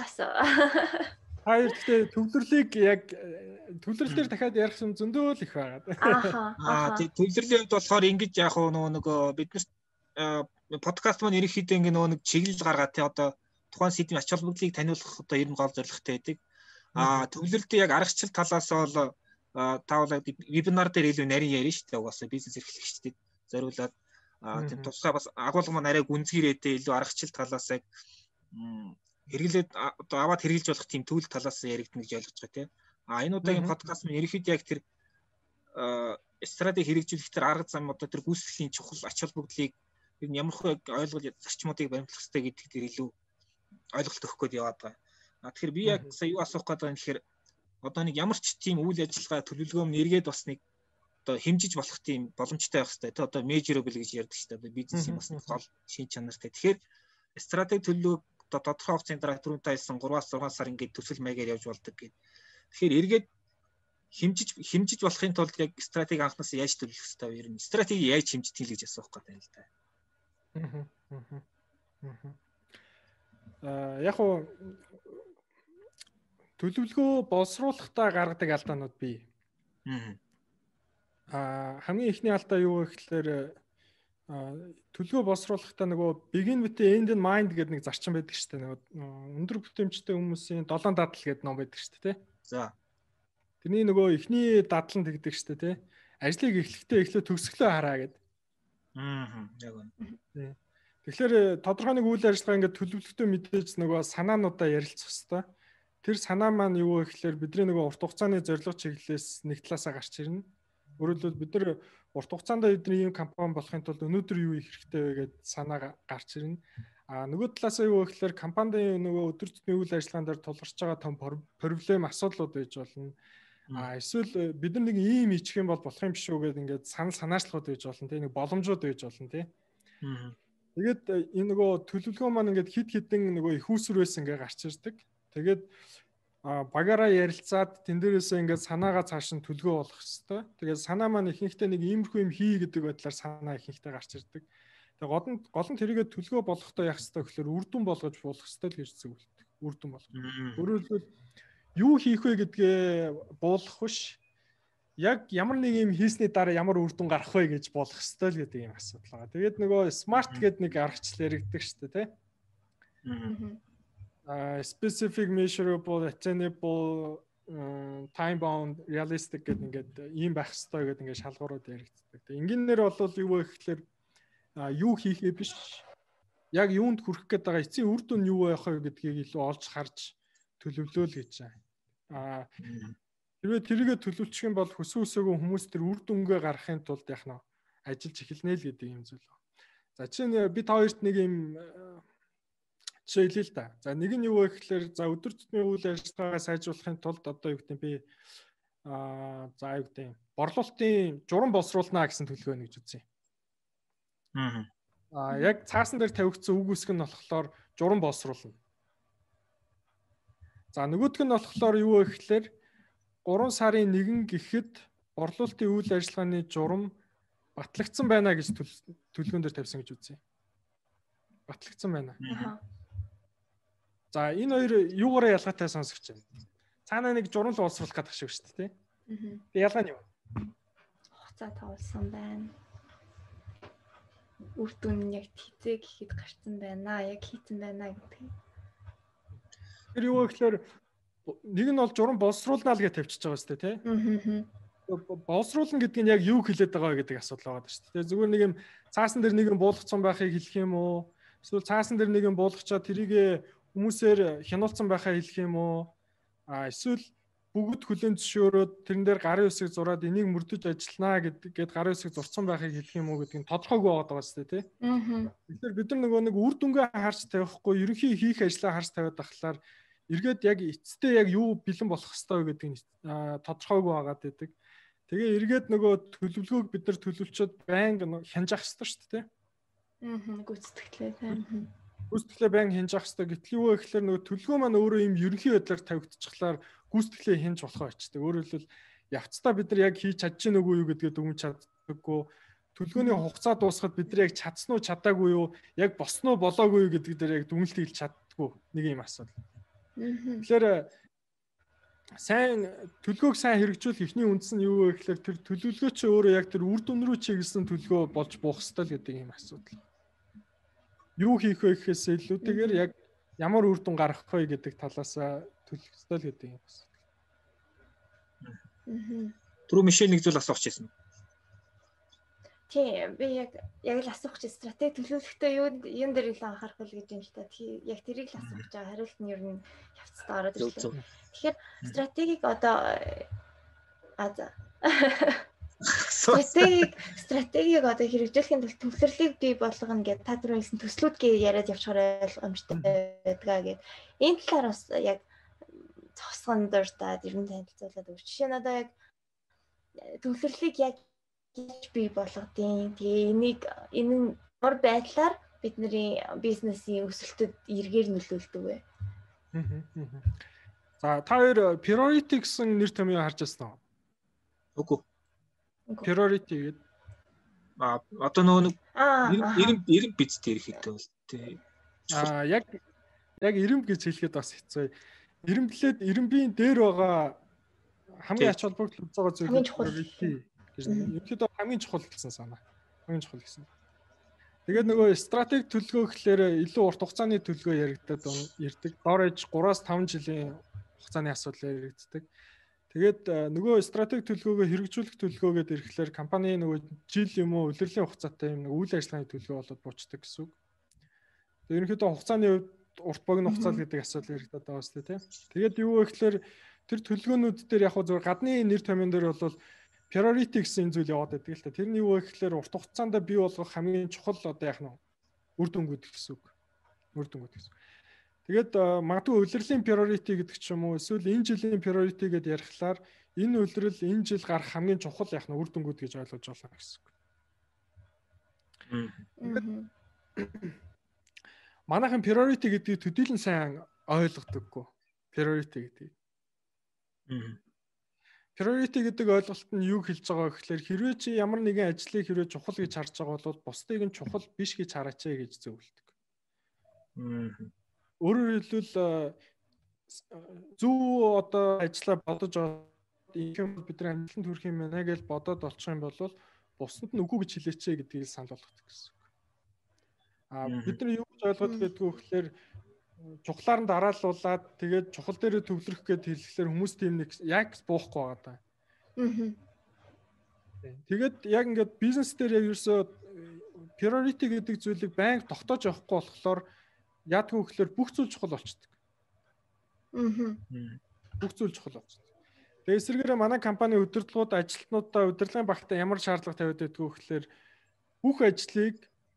Хоёр гэхдээ төвлөрлөөр дахиад ярих юм зөндөө л их байгаа. Төвлөрлийн хувьд болохоор ингэж яг нөгөө бид нар подкаст маань ерөнхийдөө ингэ нөгөө нэг чиглэл гаргаад тий одоо тухайн сэдвийн ач холбогдлыг таниулах одоо ер нь гол зорилготой байдаг. Төвлөрлөлтийн яг аргачлал талаас бол таавал вебинар дээр илүү нарийн ярина шүү дээ. Угаасаа бизнес эрхлэгчдэд зориулаад тийм тусгай бас агуулга маань арай гүнзгийрээтэй илүү аргачлал талаас яг хэрэглээд одоо аваад хэрэгжилж болох тийм төвл талаас яригдана гэж ойлгож байгаа тийм. Энэ удаагийн подкаст нь ерөнхийдөө яг тэр стратеги хэрэгжүүлэх тэр арга зам одоо тэр гүйцэтгэлийн чухал ач холбогдлыг ямар хөө ойлгол зарчмуудыг баримтлах хэрэгтэй гэдэг дээр илүү ойлголт өгөх гээд яваад байгаа. Тэгэхээр би яг сая юу асуух гээд байгаа юм гэхээр одоо нэг ямар ч тийм үйл ажиллагаа төлөвлөгөө нь эргээд бас нэг одоо хэмжиж болох тийм боломжтой байх хэрэгтэй. Тэ одоо measurable гэж ярьдаг шүү дээ. Одоо бизнесийн бас гол шин чанартай. Тэгэхээр стратеги төлөвлөгөө тодорхой хугацааны дараа түрүүнтэй хэлсэн 3-6 сар ингээд төсөл маягаар явж болдог гэдэг. Тэгэхээр эргээд хэмжиж болохын тулд яг стратеги анхнаасаа яаж төлөвлөх хэрэгтэй вэ? Ер нь стратеги яаж хэмждэг л гэж асуух гэдэг юм л да. Яг уу төлөвлөгөө боловсруулахдаа гаргадаг алдаанууд бий. Хамгийн ихний алдаа юу вэ гэхээр төлөвлөгөө боловсруулахдаа нөгөө begin with the end in mind гэдэг нэг зарчим байдаг шүү дээ. Нөгөө өндөр бүтээмжтэй хүмүүсийн 7 дадал гэдэг ном байдаг шүү дээ. За. Тэрний нөгөө ихний дадал нь тэгдэг шүү дээ. Ажлыг эхлэхдээ төгсгөлөө хараа гэдэг. Яг үнэ. Тэгэхээр тодорхой нэг үйл ажиллагаа ингээд төлөвлөлтөө мэдээж нөгөө санаануудаа ярилцах хэрэгтэй. Тэр санаа маань юу вэ гэхээр бидний нөгөө урт хугацааны зорилго чиглэлээс нэг талаасаа гарч ирнэ. Өөрөөр хэлбэл бид нар урт хугацаанд бидний ийм компани болохын тулд өнөөдөр юу хийх хэрэгтэй вэ гэдээ санаа гарч ирнэ. Нөгөө талаасаа юу вэ гэхээр компанийн нөгөө өдөр тутмын үйл ажиллагаан дээр тулгарч байгаа том проблем асуудлууд байж болно. Эсвэл бид нар нэг ийм хийчих юм бол болох юм биш үү гэдэг ингээд санаачлалууд байж болно. Тэ нэг боломжууд байж болно тий. Тэгээд энэ нөгөө төлөвлөгөө маань ингээд хид хідэн нөгөө их усрээс ингээд гарч ирдэг. Тэгээд багаараа ярилцаад тэн дээрээсээ ингээд санаагаа цааш нь төлгөө болох хэвээр. Тэгээд санаа маань ихэнхдээ нэг иймэрхүү юм хий гэдэг байдлаар санаа ихэнхдээ гарч ирдэг. Тэгээд гол нь тэрийгэ төлгөө болгохдоо яах хэвээр гэхээр үр дүн болгож болох хэвээр гэж зөвлөдөг. Үр дүн болгох. Өөрөөр хэлбэл юу хийх вэ гэдгээ буулгах биш. Яг ямар нэг юм хийсний дараа ямар үр дүн гарах вэ гэж болох хэвээр л гэдэг юм асуудал байгаа. Тэгээд нөгөө smart гэдэг нэг аргачлал яригддаг шүү дээ, тэ. Specific, measurable, attainable, time bound, realistic гэдэг ингээд ийм байх хэвээр гэдэг ингээд шалгуурууд яригддаг. Тэгээ ингээнээр бол юу вэ гэхээр юу хийхээ биш. Яг юунд хүрэх гээд байгаа эцсийн үр дүн юу байх вэ гэдгийг илүү олж харж төлөвлөөл гэж байна. Хэрвээ тэрийгэ төлөвлөчих юм бол хүсэн үсээгүй хүмүүс тэр үр дүнгээ гаргахын тулд яг нь ажиллаж эхэлнэ л гэдэг юм зүйл. За чинь бид хоёрт нэг юм жишээ хэлээ л да. За нэг нь юу вэ гэхээр за өдөр тутмын үйл ажиллагаагаа сайжруулахын тулд одоо юу гэдэг би за юу гэдэг борлуулалтын журам боловсруулнаа гэсэн төлөвлөгөө гэж үзье. Яг цаасан дээр тавигдсан үг үсэг нь болохоор журам боловсруулна. За нөгөөх нь болохоор юу вэ гэхээр 3 сарын 1 гэхэд борлуулалтын үйл ажиллагааны журам батлагдсан байна гэж төлөвлөгөөн дээр тавьсан гэж үзье. Батлагдсан байна. За энэ хоёр юугаараа ялгаатай сонсогч байна. Цаана нэг журам л боловсруулах гэдэг шиг шүү дээ. Тэгээ ялгаа нь юу? Хугацаа тавуулсан байна. Үр дүн яг хизээ гэхэд гарцсан байна. Яг хийцэн байна гэдэг. Тэр юу вэ гэхээр нэг нь бол журам боловсруулнаа л гэж тавьчихж байгаа шүү дээ, тий? Боловсруулна гэдэг нь яг юу хэлээд байгаа гэдэг асуудал байгаа шүү дээ. Зүгээр нэг юм цаасан дээр нэг юм буулгацсан байхыг хэлэх юм уу? Эсвэл цаасан дээр нэг юм буулгачаад тэрийг хүмүүсээр хянуулсан байхаа хэлэх юм уу? Эсвэл бүгд хүлэн зөвшөөрөөд тэрэн дээр гарын үсэг зураад энийг мөрдөж ажилланаа гэдэг гарын үсэг зурцсан байхыг хэлэх юм уу гэдэг нь тодорхойгүй байгаа шүү дээ, тий? Тэгэхээр бид нар нэг үр дүнгээ харж тавихгүй, ерөнхий хийх ажлаа харж тавиад ахлаар эргээд яг эцэстээ яг юу бэлэн болох хэвээр гэдэг нь тодорхойгүй байгаад байдаг. Тэгээ эргээд нөгөө төлөвлөгөөг бид нар төлөвлөчөд байнга хянжаах хэрэгтэй шүү дээ. Гүйцэтгэлээ тийм. Гүйцэтгэлээ байнга хянжаах хэрэгтэй. Гэтэл юу вэ гэхээр нөгөө төлөвлөгөө маань өөрөө юм ерөнхий байдлаар тавигдчихлаар гүйцэтгэлээ хянж болохоо очдөг. Өөрөөр хэлбэл явцдаа бид нар яг хийж чадж гин үгүй юу гэдгээ дүгнэж чаддаггүй. Төлөвлөгөөний хугацаа дуусахад бид нар яг чадсан уу чадаагүй юу, яг босноо болоогүй юу гэдэг дээр яг дүгнэлт хийж чаддаггүй нэг юм асуудал. Тэгэхээр сайн төлөвлөгөөг сайн хэрэгжүүлэх эхний үндэс нь юу вэ гэхээр тэр төлөвлөгөө чи өөрөө яг тэр үр дүн рүү чиглэсэн төлөвлөгөө болж буух ёстой л гэдэг юм асуудал. Юу хийх вэ гэхээс илүүтэйгээр яг ямар үр дүн гаргах вэ гэдэг талаас төлөх ёстой л гэдэг юм асуудал. Түрүү Мишель нэг зүйл асуух гэсэн. Тийм, би яг л асуух гэж стратеги төлөвлөлтөө юун дээр илүү анхаарах вэ гэж юм л та. Яг тэрийг л асуух гэж байгаа. Хариулт нь ер нь явцдаа ороод ирлээ. Тэгэхээр стратегийг одоо стратегийг одоо хэрэгжүүлэхийн тулд төвлөрлийг бий болгоно гэдэг та түрүү хэлсэн төслүүд гээ яриад явчихаар ойлгомжтой байдгаа гэд. Энэ талаар бас яг цогцгон дуртаад ер нь танилцуулаад өгч. Жишээ нь одоо яг төвлөрлийг яг бий болгодیں۔ Тэгээ энэ ямар байдлаар бидний бизнесийн өсөлтөд эргээр нөлөөлдөг вэ? За та хоёр priority гэсэн нэр томьёо харж байсан уу? Үгүй. Priority гэдэг одоо нөгөө 90 бицтэй ирэхэд бол тий. Яг 90 гэж хэлэхэд бас хэцүү. 90-лээд 90-ийн дээр байгаа хамгийн ач холбогдол үзэж байгаа зүйл priority гэж ерөнхийдөө хамгийн чухал гэсэн санаа. Хамгийн чухал гэсэн. Тэгээд нөгөө стратеги төлөвлөгөө гэхлээр илүү урт хугацааны төлөвлөгөө яригддаг. Доор ээж 3-5 жилийн хугацааны асуудал яригддаг. Тэгээд нөгөө стратеги төлөвлөгөөгөө хэрэгжүүлэх төлөвлөгөөгээд ирэхлээр компани нөгөө жил юм уу улирлын хугацаатай юм үйл ажиллагааны төлөвлөгөө болоод буучдаг гэсэн үг. Тэгээд ерөнхийдөө хугацааны хувьд урт богино хугацаа гэдэг асуудал яригдаад байгаа шүү дээ. Тэгээд юу вэ гэхлээр тэр төлөвлөгөөнүүд дээр яг зөв гадны нэр томьёон дээр бол priority гэсэн зүйл яваад байдаг л та. Тэрний юу вэ гэхлээр урт хугацаанд бий болгох хамгийн чухал одоо яах нь үр дүнгууд гэсэн үг. Үр дүнгууд гэсэн. Тэгээд магадгүй улирлын priority гэдэг ч юм уу эсвэл энэ жилийн priority гэдээ ярихлаар энэ улирал энэ жил гарах хамгийн чухал яах нь үр дүнгууд гэж ойлгож байна гэсэн үг. Манайхан priority гэдгийг төдийлөн сайн ойлгодоггүй. Priority гэдгийг. Priority гэдэг ойлголт нь юу хэлж байгаа гэхээр хэрвээ чи ямар нэгэн ажлыг хэрвээ чухал гэж харж байгаа бол бусдыг нь чухал биш гэж хараач гэж зөвлөдөг. Өөрөөр хэлбэл зөв одоо ажлаа бодож ийм бидний амжилтанд хүрэх юм байна гэж бодоод олчих юм бол бусдад нь үгүй гэж хэлээч гэдгийг санал болгох гэсэн үг. Бид нар юу гэж ойлгоод байдгүй гэхээр чухлаар нь дараалуулад тэгээд чухал дээр төвлөрөх гэд хэлэхлээр хүмүүс тийм нэг яг буухгүй байгаа даа. Тэгээд яг ингээд бизнес дээр яг ерөөсөө priority гэдэг зүйлийг байнга тогтоож явахгүй болохоор яадгүй гэхээр бүх зүйл чухал болчихдог. Бүх зүйл чухал болчихдог. Тэгээд эсвэргээрээ манай компани удирдлагууд ажилтнуудаа удирдлагын багтаа ямар шаардлага тавиад байдгүй гэхээр бүх ажлыг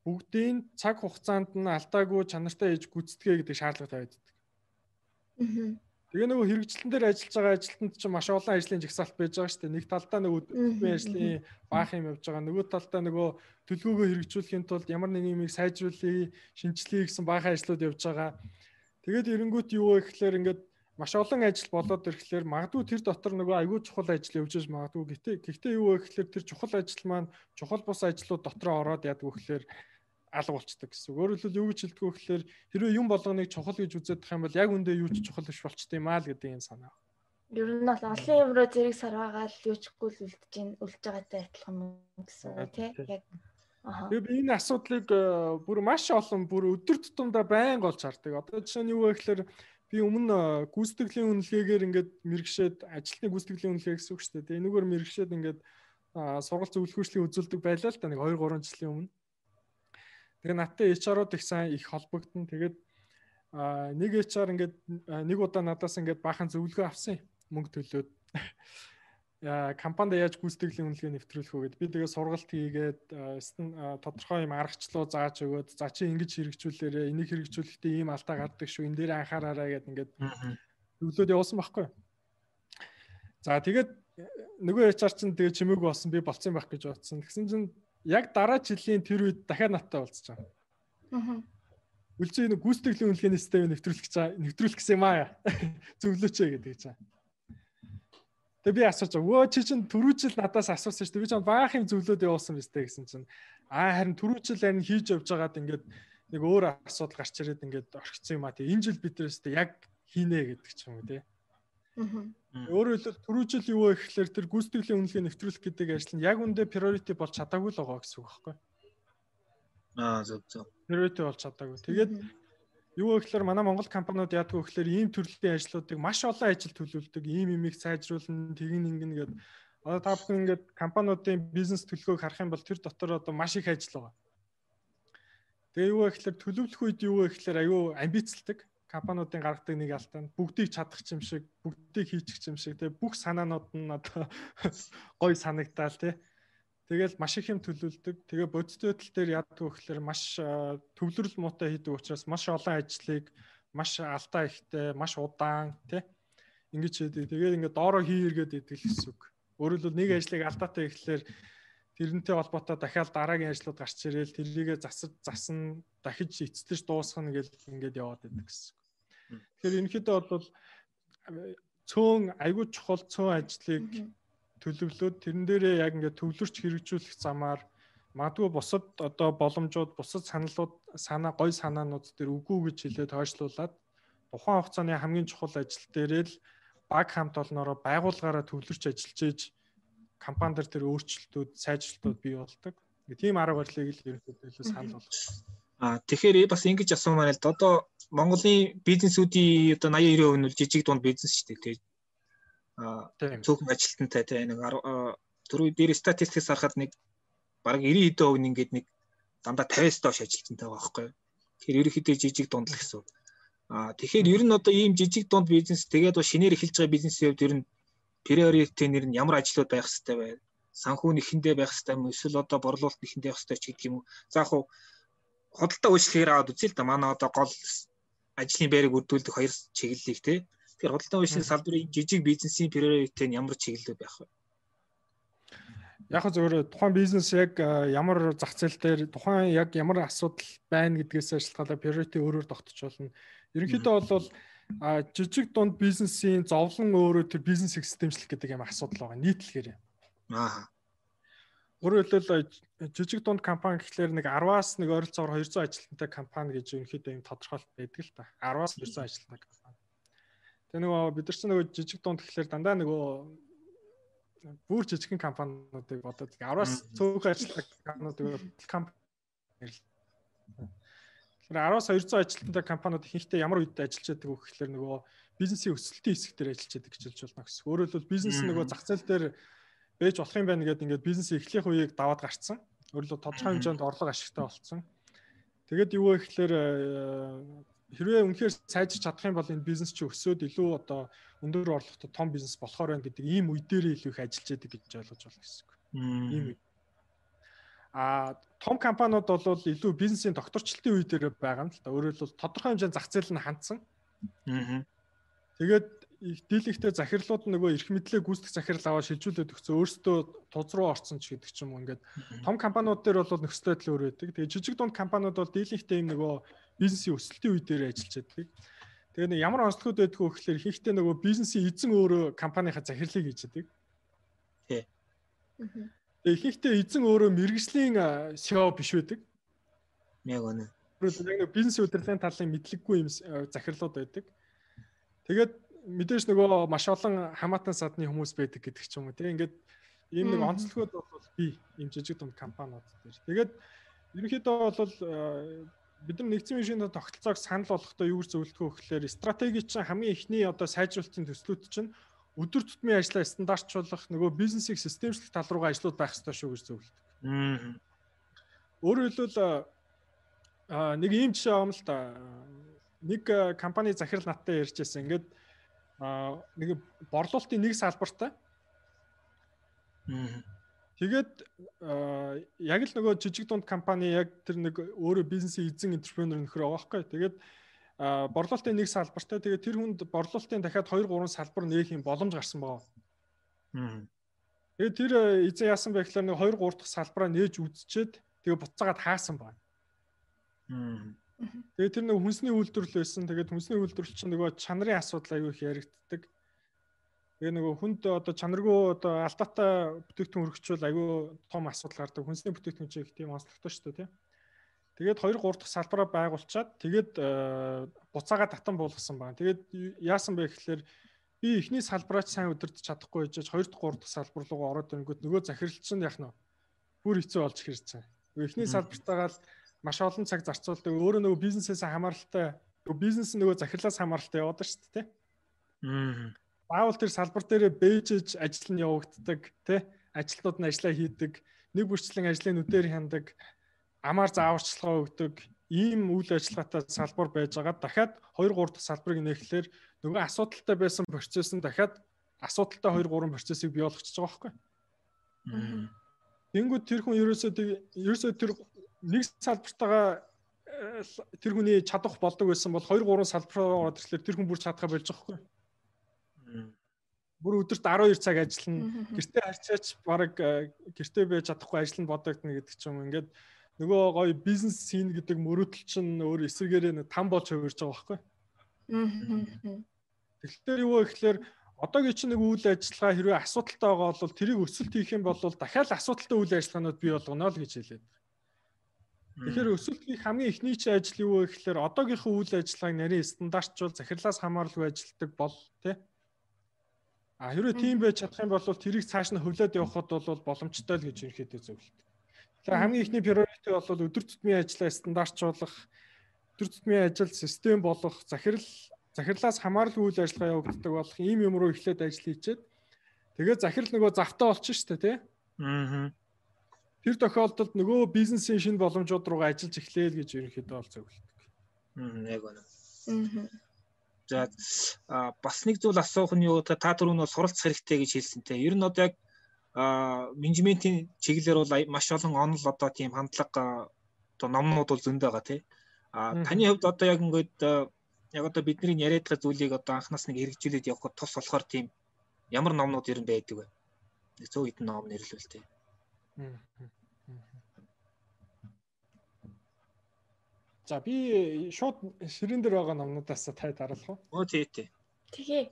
бүгдийн цаг хугацаанд нь алдаагүй чанартай хийж гүйцэтгэе гэдэг шаардлага тавиад байдаг. Тэгээ нөгөө хэрэгжилтэн дээр ажиллаж байгаа ажилтнанд чинь маш олон ажлын жагсаалт байж байгаа шүү дээ. Нэг талдаа нөгөө үйл ажлын баах юм явж байгаа. Нөгөө талдаа нөгөө төлөвлөгөөгөө хэрэгжүүлэхийн тулд ямар нэг юмыг сайжруулъя, шинжилье гэсэн баах ажлууд явж байгаа. Тэгээд эренгүүт юу вэ гэхээр ингээд маш олон ажил болоод ирэхлээр магадгүй тэр дотор нөгөө аягүй чухал ажил явж иж магадгүй. Гэхдээ юу вэ гэхээр тэр чухал ажил маань чухал бус ажлууд дотроо ороод яадаг вэ гэхээр алга болчдөг гэсэн. Өөрөөр хэлбэл юу гэж хэлдэг вэ гэхээр хэрвээ юм болгоныг чухал гэж үздэг юм бол яг үндэ юу ч чухал биш болчтой юм аа л гэдэг юм санаа. Ер нь бол олон юм руу зэрэг сарваагаад юучгүй л үлдэж байгаатай адилхан гэсэн үг тий. Яг би энэ асуудлыг бүр маш олон бүр өдөр тутамдаа байнга олж хардаг. Одоо жишээ нь юу вэ гэхээр би өмнө гүйцэтгэлийн үнэлгээгээр ингээд мэрэгшээд ажилтны гүйцэтгэлийн үнэлгээ гэсэн үг шүү дээ. Энэгээр мэрэгшээд ингээд сургалт зөвлөхөөчлийг үзүүлдэг байлаа л да нэг 2-3 жилийн өмнө. Тэгээ надтай HR-ууд их сайн их холбогдсон. Тэгээд нэг HR ингээд нэг удаа надаас ингээд баахан зөвлөгөө авсан мөнгө төлөөд компанид яаж гүйцэтгэлийн үнэлгээ нэвтрүүлэх вэ гэд. Би тэгээ сургалт хийгээд тодорхой юм аргачлал зааж өгөөд за чи ингэж хэрэгжүүлээрэ энийг хэрэгжүүлэхдээ ийм алдаа гардаг шүү. Энэ дээр анхаараарай гэд ингээд зөвлөд явуулсан байхгүй. За тэгээд нөгөө HR чинь тэгээ чимээгүй болсон би болцсон байх гэж бодсон. Тэгсэн чинь яг дараа жилийн тэр үед дахиад надтай уулзч байгаа. Үлцээ нэг гүйцэтгэлийн үнэлгээний системийг нэвтрүүлэх гэсэн юм аа. Зөвлөөч гэдэг гэж байгаа. Тэгээ би асууж байгаа. Чи чинь түрүү жил надаас асуусан шүү дээ. Би чинь баах юм зөвлөөд явуулсан биз дээ гэсэн чинь. Харин түрүү жил харин хийж явж байгаад ингээд нэг өөр асуудал гарч ирээд ингээд орхисон юм аа. Тэгээ энэ жил бид тэрээс яг хийнэ гэдэг ч юм уу тий. Өөрөөр хэлбэл түрүү жил юу вэ гэхээр тэр гүйцэтгэлийн үнэлгээ нэвтрүүлэх гэдэг ажил нь яг үндэ priority болж чадаагүй л байгаа гэсэн үг байхгүй. Зөв. Priority болж чадаагүй. Тэгээд юу вэ гэхээр манай Монгол компаниуд яадаг вэ гэхээр ийм төрлийн ажлуудыг маш олон ажил төлөвлөдөг, ийм имийг сайжруулна, тэгин ингэнэ гэдэг. Одоо та бүхэн ингээд компаниудын бизнес төлөвлөгөөг харах юм бол тэр дотор одоо маш их ажил байгаа. Тэгээ юу вэ гэхээр төлөвлөх үед юу вэ гэхээр аюу амбицлдаг. Компаниудын гаргадаг нэг алдаа нь бүгдийг чадах юм шиг, бүгдийг хийчих юм шиг тэгээ бүх санаанууд нь одоо гоё санагдаал тий. Тэгэл маш их юм төлөвлөдөг. Тэгээ бодит байдал дээр яадаг вэ гэхээр маш төвлөрөл муутай хийдэг учраас маш олон ажлыг маш алдаа ихтэй, маш удаан тий. Ингэж хийдэг. Тэгээд ингээд доороо хийргээд идэг л гэсэн үг. Өөрөөр хэлбэл нэг ажлыг алдаатай ихлээр тэрнтэй холбоотой дахиад дараагийн ажлууд гарч ирээл тэрийгэ засна дахиж эцэлж дуусгах гэл ингээд яваад байдаг гэсэн. Тэгэхээр ерөнхийдөө бол цөөн аягүй чухал цөөн ажлыг төлөвлөөд тэрэн дээрээ яг ингээд төвлөрч хэрэгжүүлэх замаар магадгүй бусад одоо боломжууд, бусад гоё санаанууд дээр үгүй гэж хэлээд хойшлуулад тухайн хугацааны хамгийн чухал ажил дээрээ л баг хамт олноороо байгууллагаараа төвлөрч ажиллаж ийж компани дээр тэр өөрчлөлтүүд, сайжралтууд бий болдог. Тийм арга барилыг л ерөнхийдөө санал болгосон. Тэгэхээр бас ингэж асуумаар л одоо Монголын бизнесүүдийн одоо 80-90% нь жижиг дунд бизнес шүү дээ. Тэгээд цөөхөн ажилтнтай тий нэг түрүү дээр статистикс харахад нэг бараг 90% нь ингээд нэг дандаа 50-аас доош ажилтнтай байгаа байхгүй. Тэгэхээр ерөнхийдөө жижиг дунд л гэсэн. Тэгэхээр ер нь одоо ийм жижиг дунд бизнес тэгээд шинээр эхэлж байгаа бизнесийн хувьд ер нь priority нэр нь ямар ажлууд байх хэрэгтэй вэ? Санхүү нэхэндээ байх хэрэгтэй юм эсвэл одоо борлуулалт нэхэндээ байх хэрэгтэй ч гэдэг юм уу? За яг худалдаа үйлчлэгээр аваад үзье л да. Манай одоо гол ажлын байрыг үрдүүлдэг хоёр чиглэлийг тий. Тэгэхээр худалдаа үйлчлэгийн салбарын жижиг бизнесийн priority нь ямар чиглэл байх вэ? Яг зөвхөн тухайн бизнес яг ямар зах зээл дээр тухайн яг ямар асуудал байна гэдгээс шалтгаалаад priority өөрөөр тогтож болно. Ерөнхийдөө бол жижиг дунд бизнесийн зовлон өөрөө тэр бизнесийг системчлэх гэдэг юм асуудал байгаа. Нийтлэгээр. Өөрөөр хэлбэл жижиг дунд компани гэхлээр нэг 10-аас нэг ойролцоогоор 200 ажилтнтай компани гэж ерөнхийдөө юм тодорхойлт байдаг л та. 10-аас 200 ажилтнтай компани. Тэгээ нөгөө бид нар ч нөгөө жижиг дунд гэхлээр дандаа нөгөө бүр жижигхэн компаниудыг бодоод 10-аас цөөхөн ажилтнтай компаниудыг Тэгэхээр 10-аас 200 ажилтнтай компаниуд ихэнхдээ ямар үед ажиллаж байдаг вэ гэхлээр нөгөө бизнесийн өсөлтийн хэсэг дээр ажиллаж байдаг гэж хэлж болно гэсэн. Өөрөөр хэлбэл бизнес нөгөө зах зээл дээр бэж болох юм байна гэдэг ингээд бизнес эхлэх үеийг даваад гарцсан. Өөрөлдөө тодорхой хэмжээнд орлого ашигтай болсон. Тэгээд юу вэ гэхлээр хэрвээ үнэхээр сайжирч чадах юм бол энэ бизнес чи өсөөд илүү одоо өндөр орлоготой том бизнес болохоор байна гэдэг ийм үе дээр илүү их ажиллаж байдаг гэж ойлгож байна гэсэн үг. Ийм үе. Том компаниуд бол илүү бизнесийн докторчлалтын үе дээр байгаа юм л та. Өөрөөр хэлбэл тодорхой хэмжээний зах зээл нь хандсан. Тэгээд дийлэгтэй захирлууд нөгөө эрх мэдлээ гүйцэтгэх захирал аваад шилжүүлээд өгсөн өөрсдөө туз руу орсон ч гэдэг ч юм уу. Ингээд том компаниуд дээр бол нөхцөл байдал өөр байдаг. Тэгээд жижиг дунд компаниуд бол дийлэгтэй юм нөгөө бизнесийн өсөлтийн үе дээр ажиллаж байдаг. Тэгээд нэг ямар онцлогуд байдг вэ гэхээр ихэнхдээ нөгөө бизнесийн эзэн өөрөө компанийнхаа захирлыг хийж байдаг. Тий. Ихэнхдээ эзэн өөрөө мэргэжлийн CEO биш байдаг. Яг үнэ. Яг нэг бизнес удирдлагын талын мэдлэггүй юм захирлууд байдаг. Тэгээд мэдээж нөгөө маш олон хамаатан садны хүмүүс байдаг гэдэг ч юм уу тийм ингээд ийм нэг онцлогуд бол бий ийм жижиг дунд компаниуд дээр. Тэгээд ерөнхийдөө бол бид нар нэгдсэн машины тогтолцоог санал болгохдоо юу гэж зөвлөдгөө гэхээр стратеги чинь хамгийн эхний одоо сайжруулалтын төслүүд чинь өдөр тутмын ажлаа стандартчлуулах нөгөө бизнесийг системчлэх тал руугаа ажлууд байх ёстой шүү гэж зөвлөдөг. Өөрөөр хэлбэл нэг ийм жишээ авам л да. Нэг компани захирал надтай ярьж байсан. Ингээд нэг борлуулалтын нэг салбартай. Тэгээд яг л нөгөө жижиг дунд компани яг тэр нэг өөрөө бизнесийн эзэн энтерпренер нөхөр байгаа байхгүй. Тэгээд борлуулалтын нэг салбартай. Тэгээд тэр хүнд борлуулалтын дахиад 2-3 салбар нээх юм боломж гарсан байгаа. Тэгээд тэр эзэн яасан бэ гэхээр нэг 2-3 дахь салбараа нээж үзчихэд тэгээд буцаагаад хаасан байна. Тэгээд тэр нэг хүнсний үйлдвэрлэл байсан. Тэгээд хүнсний үйлдвэрлэл чинь нөгөө чанарын асуудал аягүй их яригддаг. Тэгээ нөгөө хүнд одоо чанаргүй одоо алдаатай бүтээгдэхүүн өргөчвөл аягүй том асуудал гардаг. Хүнсний бүтээгдэхүүн чинь их тийм онцлогтой шүү дээ, тийм. Тэгээд 2-3 дахь салбараа байгуулчаад тэгээд буцаагаа татан буулгасан байна. Тэгээд яасан бэ гэхээр би эхний салбараач сайн удирдах чадахгүй байж 2 дахь 3 дахь салбар руу ороод ирэнгүүт нөгөө захирал чинь яг нь бүр хэцүү болж ирж байгаа. Эхний салбартаагаа л маш олон цаг зарцуулдаг. Өөрөө нөгөө бизнесээс хамааралтай, нөгөө бизнес нөгөө захирлаас хамааралтай яваад шүү дээ, тийм. Баавал тэр салбар дээрээ бэжж ажил нь явагддаг, тий? Ажилтнууд нь ажиллаа хийдэг, нэг бүрчлэн ажлын нүдээр хяндаг, амаар зааварчилгаа өгдөг, ийм үйл ажиллагаатай салбар байж байгаа. Дахиад 2-3 дахь салбарыг нээхлээр нөгөө асуудалтай байсан процесс нь дахиад асуудалтай 2-3 процессыг бий болгочихж байгаа байхгүй. Тэнгүүд тэр хүн ерөөсөө тэр нэг салбартаа тэр хүний чадах болдог байсан бол 2-3 салбараа ороод ирэхлээр тэр хүн бүр чадхаа болж байгаа байхгүй. Бүр өдөрт 12 цаг ажиллана. Гэртээ харьцаач баг гэртээ байж чадахгүй ажиллана бодогдно гэдэг ч юм. Ингээд нөгөө гоё бизнес син гэдэг мөрөөдөл чинь өөр эсрэгээрээ там болж хувирж байгаа байхгүй. Тэгэхээр юу вэ гэхээр одоогийн чинь нэг үйл ажиллагаа хэрвээ асуудалтай байгаа бол тэрийг өсөлт хийх юм бол дахиад асуудалтай үйл ажиллагаанууд бий болгоно л гэж хэлээд. Тэгэхээр өсөлт хийх хамгийн эхний чинь ажил юу вэ гэхээр одоогийнхоо үйл ажиллагааг нарийн стандартчул захирлаас хамааралгүй ажилтдаг бол тий. Хэрвээ тийм байж чадах юм бол тэрийг цааш нь хөвлөд явахад бол боломжтой л гэж ерөнхийдөө зөвлөдөг. Тэгэхээр хамгийн ихний priority бол өдөр тутмын ажлаа стандартчуулах, өдөр тутмын ажил систем болгох, захирлаас хамааралгүй үйл ажиллагаа явагддаг болох ийм юм руу эхлээд ажил хийчихэд тэгээд захирал нөгөө завтаа болчих шүү дээ, тий. Тэр тохиолдолд нөгөө бизнесийн шинэ боломжууд руугаа ажиллаж эхлээл гэж ерөнхийдөө бол зөвлөдөг. Яг байна. За бас нэг зүйл асуух нь юу та түрүү нь суралцах хэрэгтэй гэж хэлсэнтэй. Ер нь одоо яг менежментийн чиглэлээр бол маш олон онол одоо тийм хандлага одоо номнууд бол зөндөө байгаа тий. Таны хувьд одоо яг ингээд яг одоо бидний яриад байгаа зүйлийг одоо анхнаас нэг хэрэгжүүлээд явахад тус болохоор тийм ямар номнууд ер нь байдаг вэ? Нэг 100 хэдэн ном нэрлэвэл тий. За би шууд ширэн дээр байгаа номнуудаас тай дараалах уу? Оо тий. Тэгээ.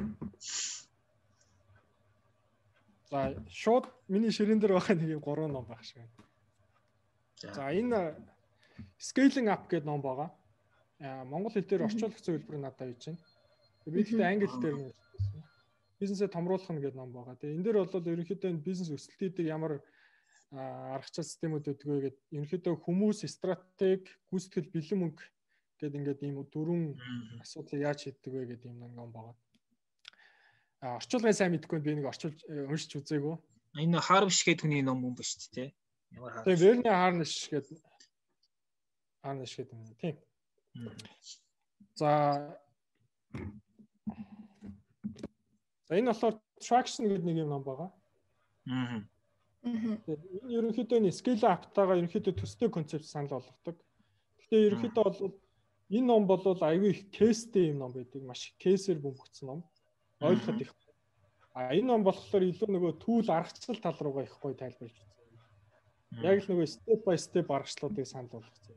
За шууд миний ширэн дээр байгаа нэг 3 ном байх шиг байна. За энэ scaling up гэдэг ном байгаа. Монгол хэл дээр орчуулах зөвлбөр надад хийж байна. Би тэгтээ англи хэл дээр нь бизнесээ томруулах нь гэдэг ном байгаа. Тэгээ энэ дээр бол ерөнхийдөө бизнес өсөлтийн дээр ямар аргачлал системүүд өгдөг вэ гэдэг ерөнхийдөө хүмүүс, стратеги, гүйцэтгэл, бэлэн мөнгө гэдэг ингээд ийм 4 асуудлыг яаж шийддэг вэ гэдэг юм ном байгаа. Орчуулгын сайн мэдэхгүй би нэг орчуулж уншиж үзээгүй. Энэ Харвиш гэдэг хүний ном юм ба шүү дээ. Ямар Харвиш? Тэгээ Верни Харниш гэдэг юм тийм. За энэ болохоор traction гэдэг нэг юм ном байгаа. Энэ ерөнхийдөө энэ scale up-тайгаа ерөнхийдөө төстэй концепт санал болгодог. Гэхдээ ерөнхийдөө бол энэ ном бол аюу их кейстэй юм ном байдаг. Маш их кейсээр бөмбөгдсөн ном. Ойлгоход их. Энэ ном болохоор илүү нөгөө түүл аргачлал тал руугаа их гоё тайлбарлаж байна. Яг л нөгөө step by step аргачлалуудыг санал болгосон.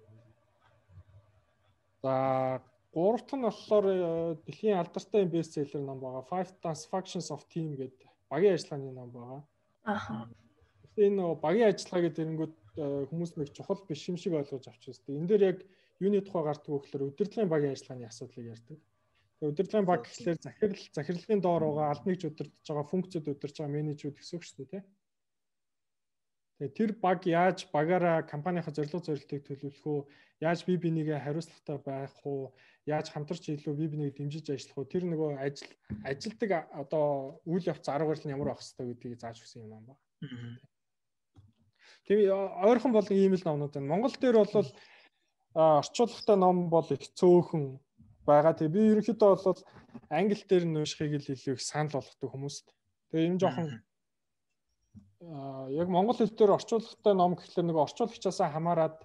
За гурав дахь нь болохоор дэлхийн алдартай бестселлер ном байгаа. Five Functions of Team гэдэг багийн ажиллагааны ном байгаа. Тэгэхээр энэ нөгөө багийн ажиллагаа гэдэг нэгэнгүүд хүмүүс нэг чухал биш юм шиг ойлгож авч байна. Энэ дээр яг юуны тухай гардаг вэ гэхээр удирдлагын багийн ажиллагааны асуудлыг ярьдаг. Тэгээ удирдлагын баг гэхлээр захирлагын доор байгаа албаныг удирдах байгаа функцэд удирдах байгаа менежүүд гэсэн үг шүү дээ. Тэгээ тэр баг яаж багаараа компанийн зорилго зорилтыг төлөвлөх үү, яаж бие бинийгээ хариуцлагатай байх уу, яаж хамтарч илүү бие бинийг дэмжиж ажиллах уу, тэр нөгөө ажилтдаг одоо үйл явц арга барил нь ямар байх хэвээр гэдгийг зааж өгсөн юм байна. Тэгээ ойрхон бол ийм л номнууд байна. Монгол дээр бол орчуулгатай ном бол их цөөхөн байгаа. Тэгээ би ерөнхийдөө бол англи дээр нь уншихыг л илүү их санал болгодог хүмүүст. Тэгээ энэ жоохон яг монгол хэл дээр орчуулгатай ном гэхлээр нэг орчуулагчаасаа хамаарад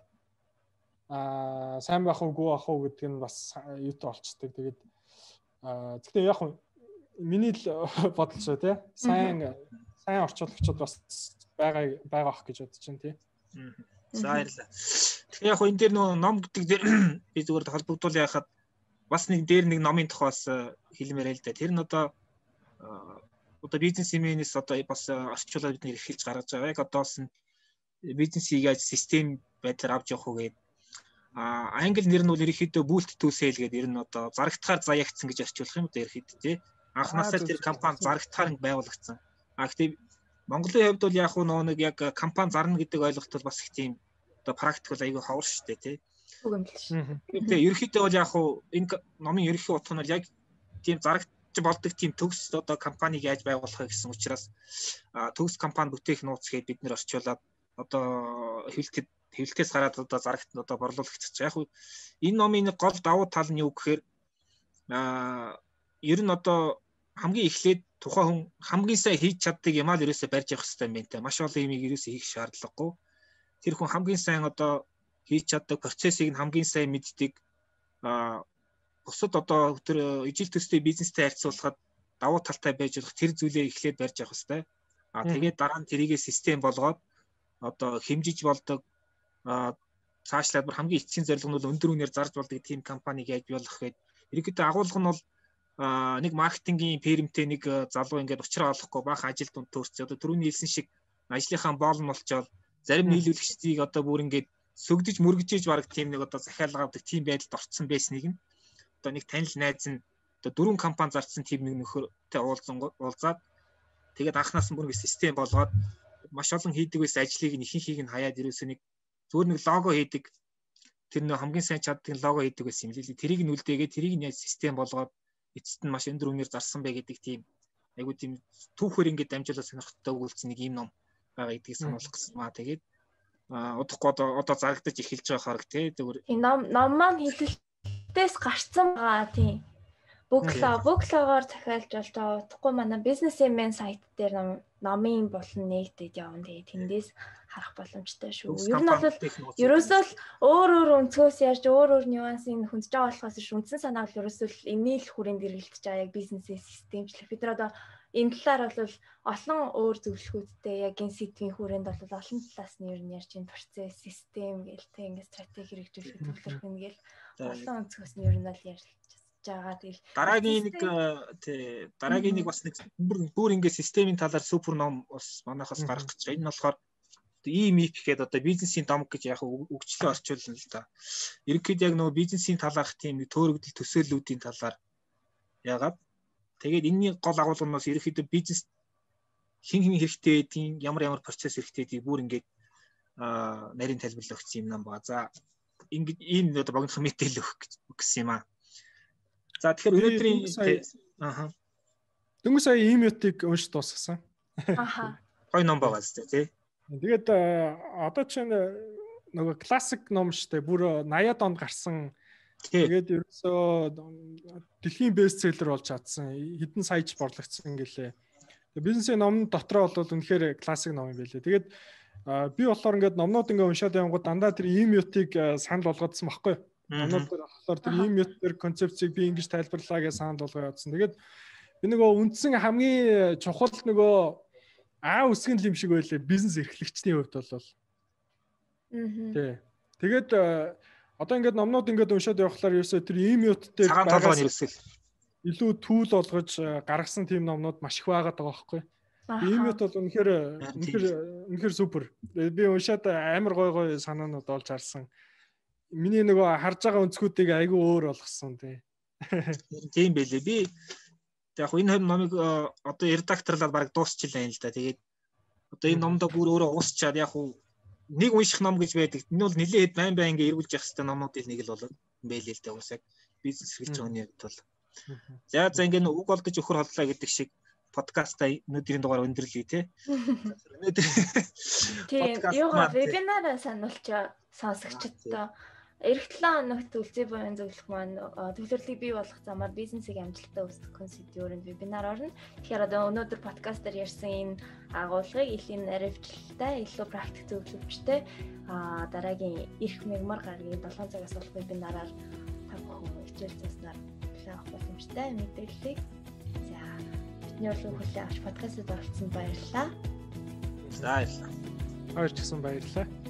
сайн байх уугүй байх уу гэдэг нь бас юутай болцдог. Тэгээд гэхдээ яг миний л бодол шүү тий. Сайн орчуулагчид бас байгаа ах гэж бодож байна тий. За баярлалаа. Тэгэхээр яг энэ дээр ном гэдэг дээр би зүгээр холбогдуул яхад бас нэг дээр нэг номын тухайс хэлмээр л да. Тэр нь одоо бизнесменээс одоо бас орчуулаад бид нэр эхэлж гаргаж байгаа. Яг одоос нь бизнесийг яаж систем байдлаар авч явах уу гэдэг. Англи нэр нь бол ерөнхийдөө boot to sell гэдэг ер нь одоо зарагтахаар заягдсан гэж орчуулах юм одоо ерөнхийдөө тий. Анхнаасаа тэр компани зарагтахаар байгуулагдсан. Гэхдээ Монголын хувьд бол яг нэг яг компани зарна гэдэг ойлголт бол бас их тийм одоо практикл айгүй ховор шүү дээ тий. Үг юм л шүү. Тэгээ ерөнхийдөө бол яг энэ номын ерөнхий утга нь бол яг тийм зарагт болдог тийм төгс одоо компаниг яаж байгуулах гэсэн учраас төгс компани бүтээх нууц гээд бид нэр орчуулад одоо хэвлэлтээс гараад одоо зарагт одоо борлуулах гэж байгаа. Яг энэ номын гол давуу тал нь юу гэхээр ер нь одоо хамгийн эхлээд тухайн хүн хамгийн сайн хийж чаддаг юм аа л ерөөсөө барьж явах хэрэгтэй юм байна те. Маш олон юмыг ерөөсөө хийх шаардлагагүй. Тэр хүн хамгийн сайн одоо хийж чаддаг процессыг нь хамгийн сайн мэддэг бусад одоо тэр ижил төстэй бизнестэй харьцуулахад давуу талтай байж болох тэр зүйлээ эхлээд барьж явах хэрэгтэй. Тэгээд дараа нь тэрийгэ систем болгоод одоо хэмжиж болдог цаашлаад бүр хамгийн эцсийн зорилго нь бол өндөр үнээр зарж болдог тийм компаниг яаж болох гэдэг. Ерөнхийдөө агуулга нь бол нэг маркетингийн фирмтэй нэг залуу ингээд уучраа олохгүй баахан ажил дунд төрсөн. Одоо түрүүний хэлсэн шиг ажлынхаа боол нь болчоод зарим нийлүүлэгчдийг одоо бүр ингээд сөгдөж мөргөжж баг тийм нэг одоо захиалга авдаг тийм байдалд орцсон байсныг нь одоо нэг танил найз нь одоо 4 компани зарцсан тийм нэг нөхөртэй уулзаад тэгээд анханаас нь бүр нэг систем болгоод маш олон хийдэг байсан ажлыг нь ихэнхийг нь хаяад ерөөсөө нэг зүгээр нэг лого хийдэг тэр нэг хамгийн сайн чаддаг лого хийдэг байсан юм лээ. Тэрийг нь үлдээгээд тэрийг нь яаж систем болгоод эцэст нь маш өндөр үнээр зарсан бай гэдэг тийм айгуу тийм түүхээр ингээд дамжуулаад сонирхолтой өгүүлсэн нэг юм ном байгаа гэдгийг сануулгах гэсэн маа. Тэгээд удахгүй одоо зарагдаж эхэлж байгаа хараг тий зүгээр энэ ном маань хэлэлтээс гарцсан байгаа тийм Бөглогоор захиалж болж байгаа. Утгагүй манай бизнесмен сайт дээр номын болон нэгдэд явна. Тэгээ тэндээс харах боломжтой шүү. Ер нь бол ерөөсөө л өөр өнцгөөс ярьж өөр нюансыг хүндж байгаа болохоос ш үндсэн санаа бол ерөөсөө л энийг л хүрээнд эргэлдэж байгаа яг бизнесээ системчлэх. Бид нар одоо энэ талаар бол олон өөр зөвлөгөөдтэй яг энэ сэдвийн хүрээнд бол олон талаас нь ер нь ярьж энэ процесс, систем гэлтэй ингээд стратеги хэрэгжүүлэх төвлөрөх нь гээл олон өнцгөөс нь ер нь бол ярьж байгаа. Тэгэл дараагийн нэг бас нэг бүр ингээд системийн талаар супер ном бас манайхаас гарах гэж байна. Энэ нь болохоор EMIP гэдэг одоо бизнесийн домог гэж яг үгчлээ орчуулна л да. Ерөнхийдөө яг нөгөө бизнесийн талаарх тийм төөрөгдөл төсөөллүүдийн талаар яагаад тэгээд энэний гол агуулгаас ерөнхийдөө бизнес хин хэрэгтэй гэдгийг ямар процесс хэрэгтэй гэдгийг бүр ингээд нарийн тайлбарлал өгсөн юм байна. За ингээд ийм одоо богинохон мэдээлэл өгөх гэсэн юм аа. За тэгэхээр өнөөдрийн дөнгөж сая EMIP-ийг уншиж дуусгасан. Гой ном байгаа зү тий. Тэгээд одоо чинь нөгөө классик ном штэ бүр 80-аад онд гарсан. Тэгээд ерөөсөө дэлхийн бестселлер болж чадсан. Хэдэн саяж борлогдсон гэлээ. Бизнесийн ном дотроо бол үнэхээр классик ном юм байлээ. Тэгээд би болохоор ингээд номнууд ингээд уншаад явангууд дандаа тэр EMUT-ыг санал болгоодсон байхгүй юу? Номнууд дээр болохоор тэр EMUT тэр концепцийг би ингэж тайлбарлаа гэж санал болгоо явуулсан. Тэгээд би нөгөө үндсэн хамгийн чухал нөгөө үсгэн л юм шиг байлээ бизнес эрхлэгчдийн хувьд бол. Тий. Тэгээд одоо ингээд номнууд ингээд уншаад явахлаар ерөөсөө тэр EMUT дээр илүү түүл болгож гаргасан тийм номнууд маш их байгаад байгаа байхгүй. EMUT бол үнэхээр супер. Би уншаад амар гой санаанууд олж харсан. Миний нөгөө харж байгаа өнцгүүдийг айгүй өөр болгосон тий. Тийм байлээ. Би яг энэ номыг одоо редакторлаад баг дуусчихлаа юм л да. Тэгээд одоо энэ номдоо бүр өөрөө уусчаад яг нэг унших ном гэж байдаг. Энэ бол нэлээд байн ингээ эргүүлж явах хэрэгтэй номнуудын нэг л болоод байлээ л да уусаг. Бизнес эрхлэж байгаа нэг бол. За ингээ үг олдож өхөр хотлоо гэдэг шиг подкастаа өнөөдрийн дугаар өндөрлөе тий. Өнөөдөр юугаа вебинараа сануулчаа сонсогчдоо эх 7 хоногт үлзий буян зөвлөх маань төвлөрлийг бий болгох замаар бизнесийг амжилттай үүсгэх концептуурын вебинар орно. Тэгэхээр одоо өнөөдөр подкастаар ярьсан энэ агуулгыг илүү наривчлалтай, илүү практик зөвлөвчтэй дараагийн эрх мегмар гарагийн 7 цагаас болох вебинараар та бүхэн хичээл заснаар авах боломжтой мэдээллийг за бидний урлагийн хүлээн авч подкастт оролцсонд баярлалаа. За баярлалаа. Баярлалаа.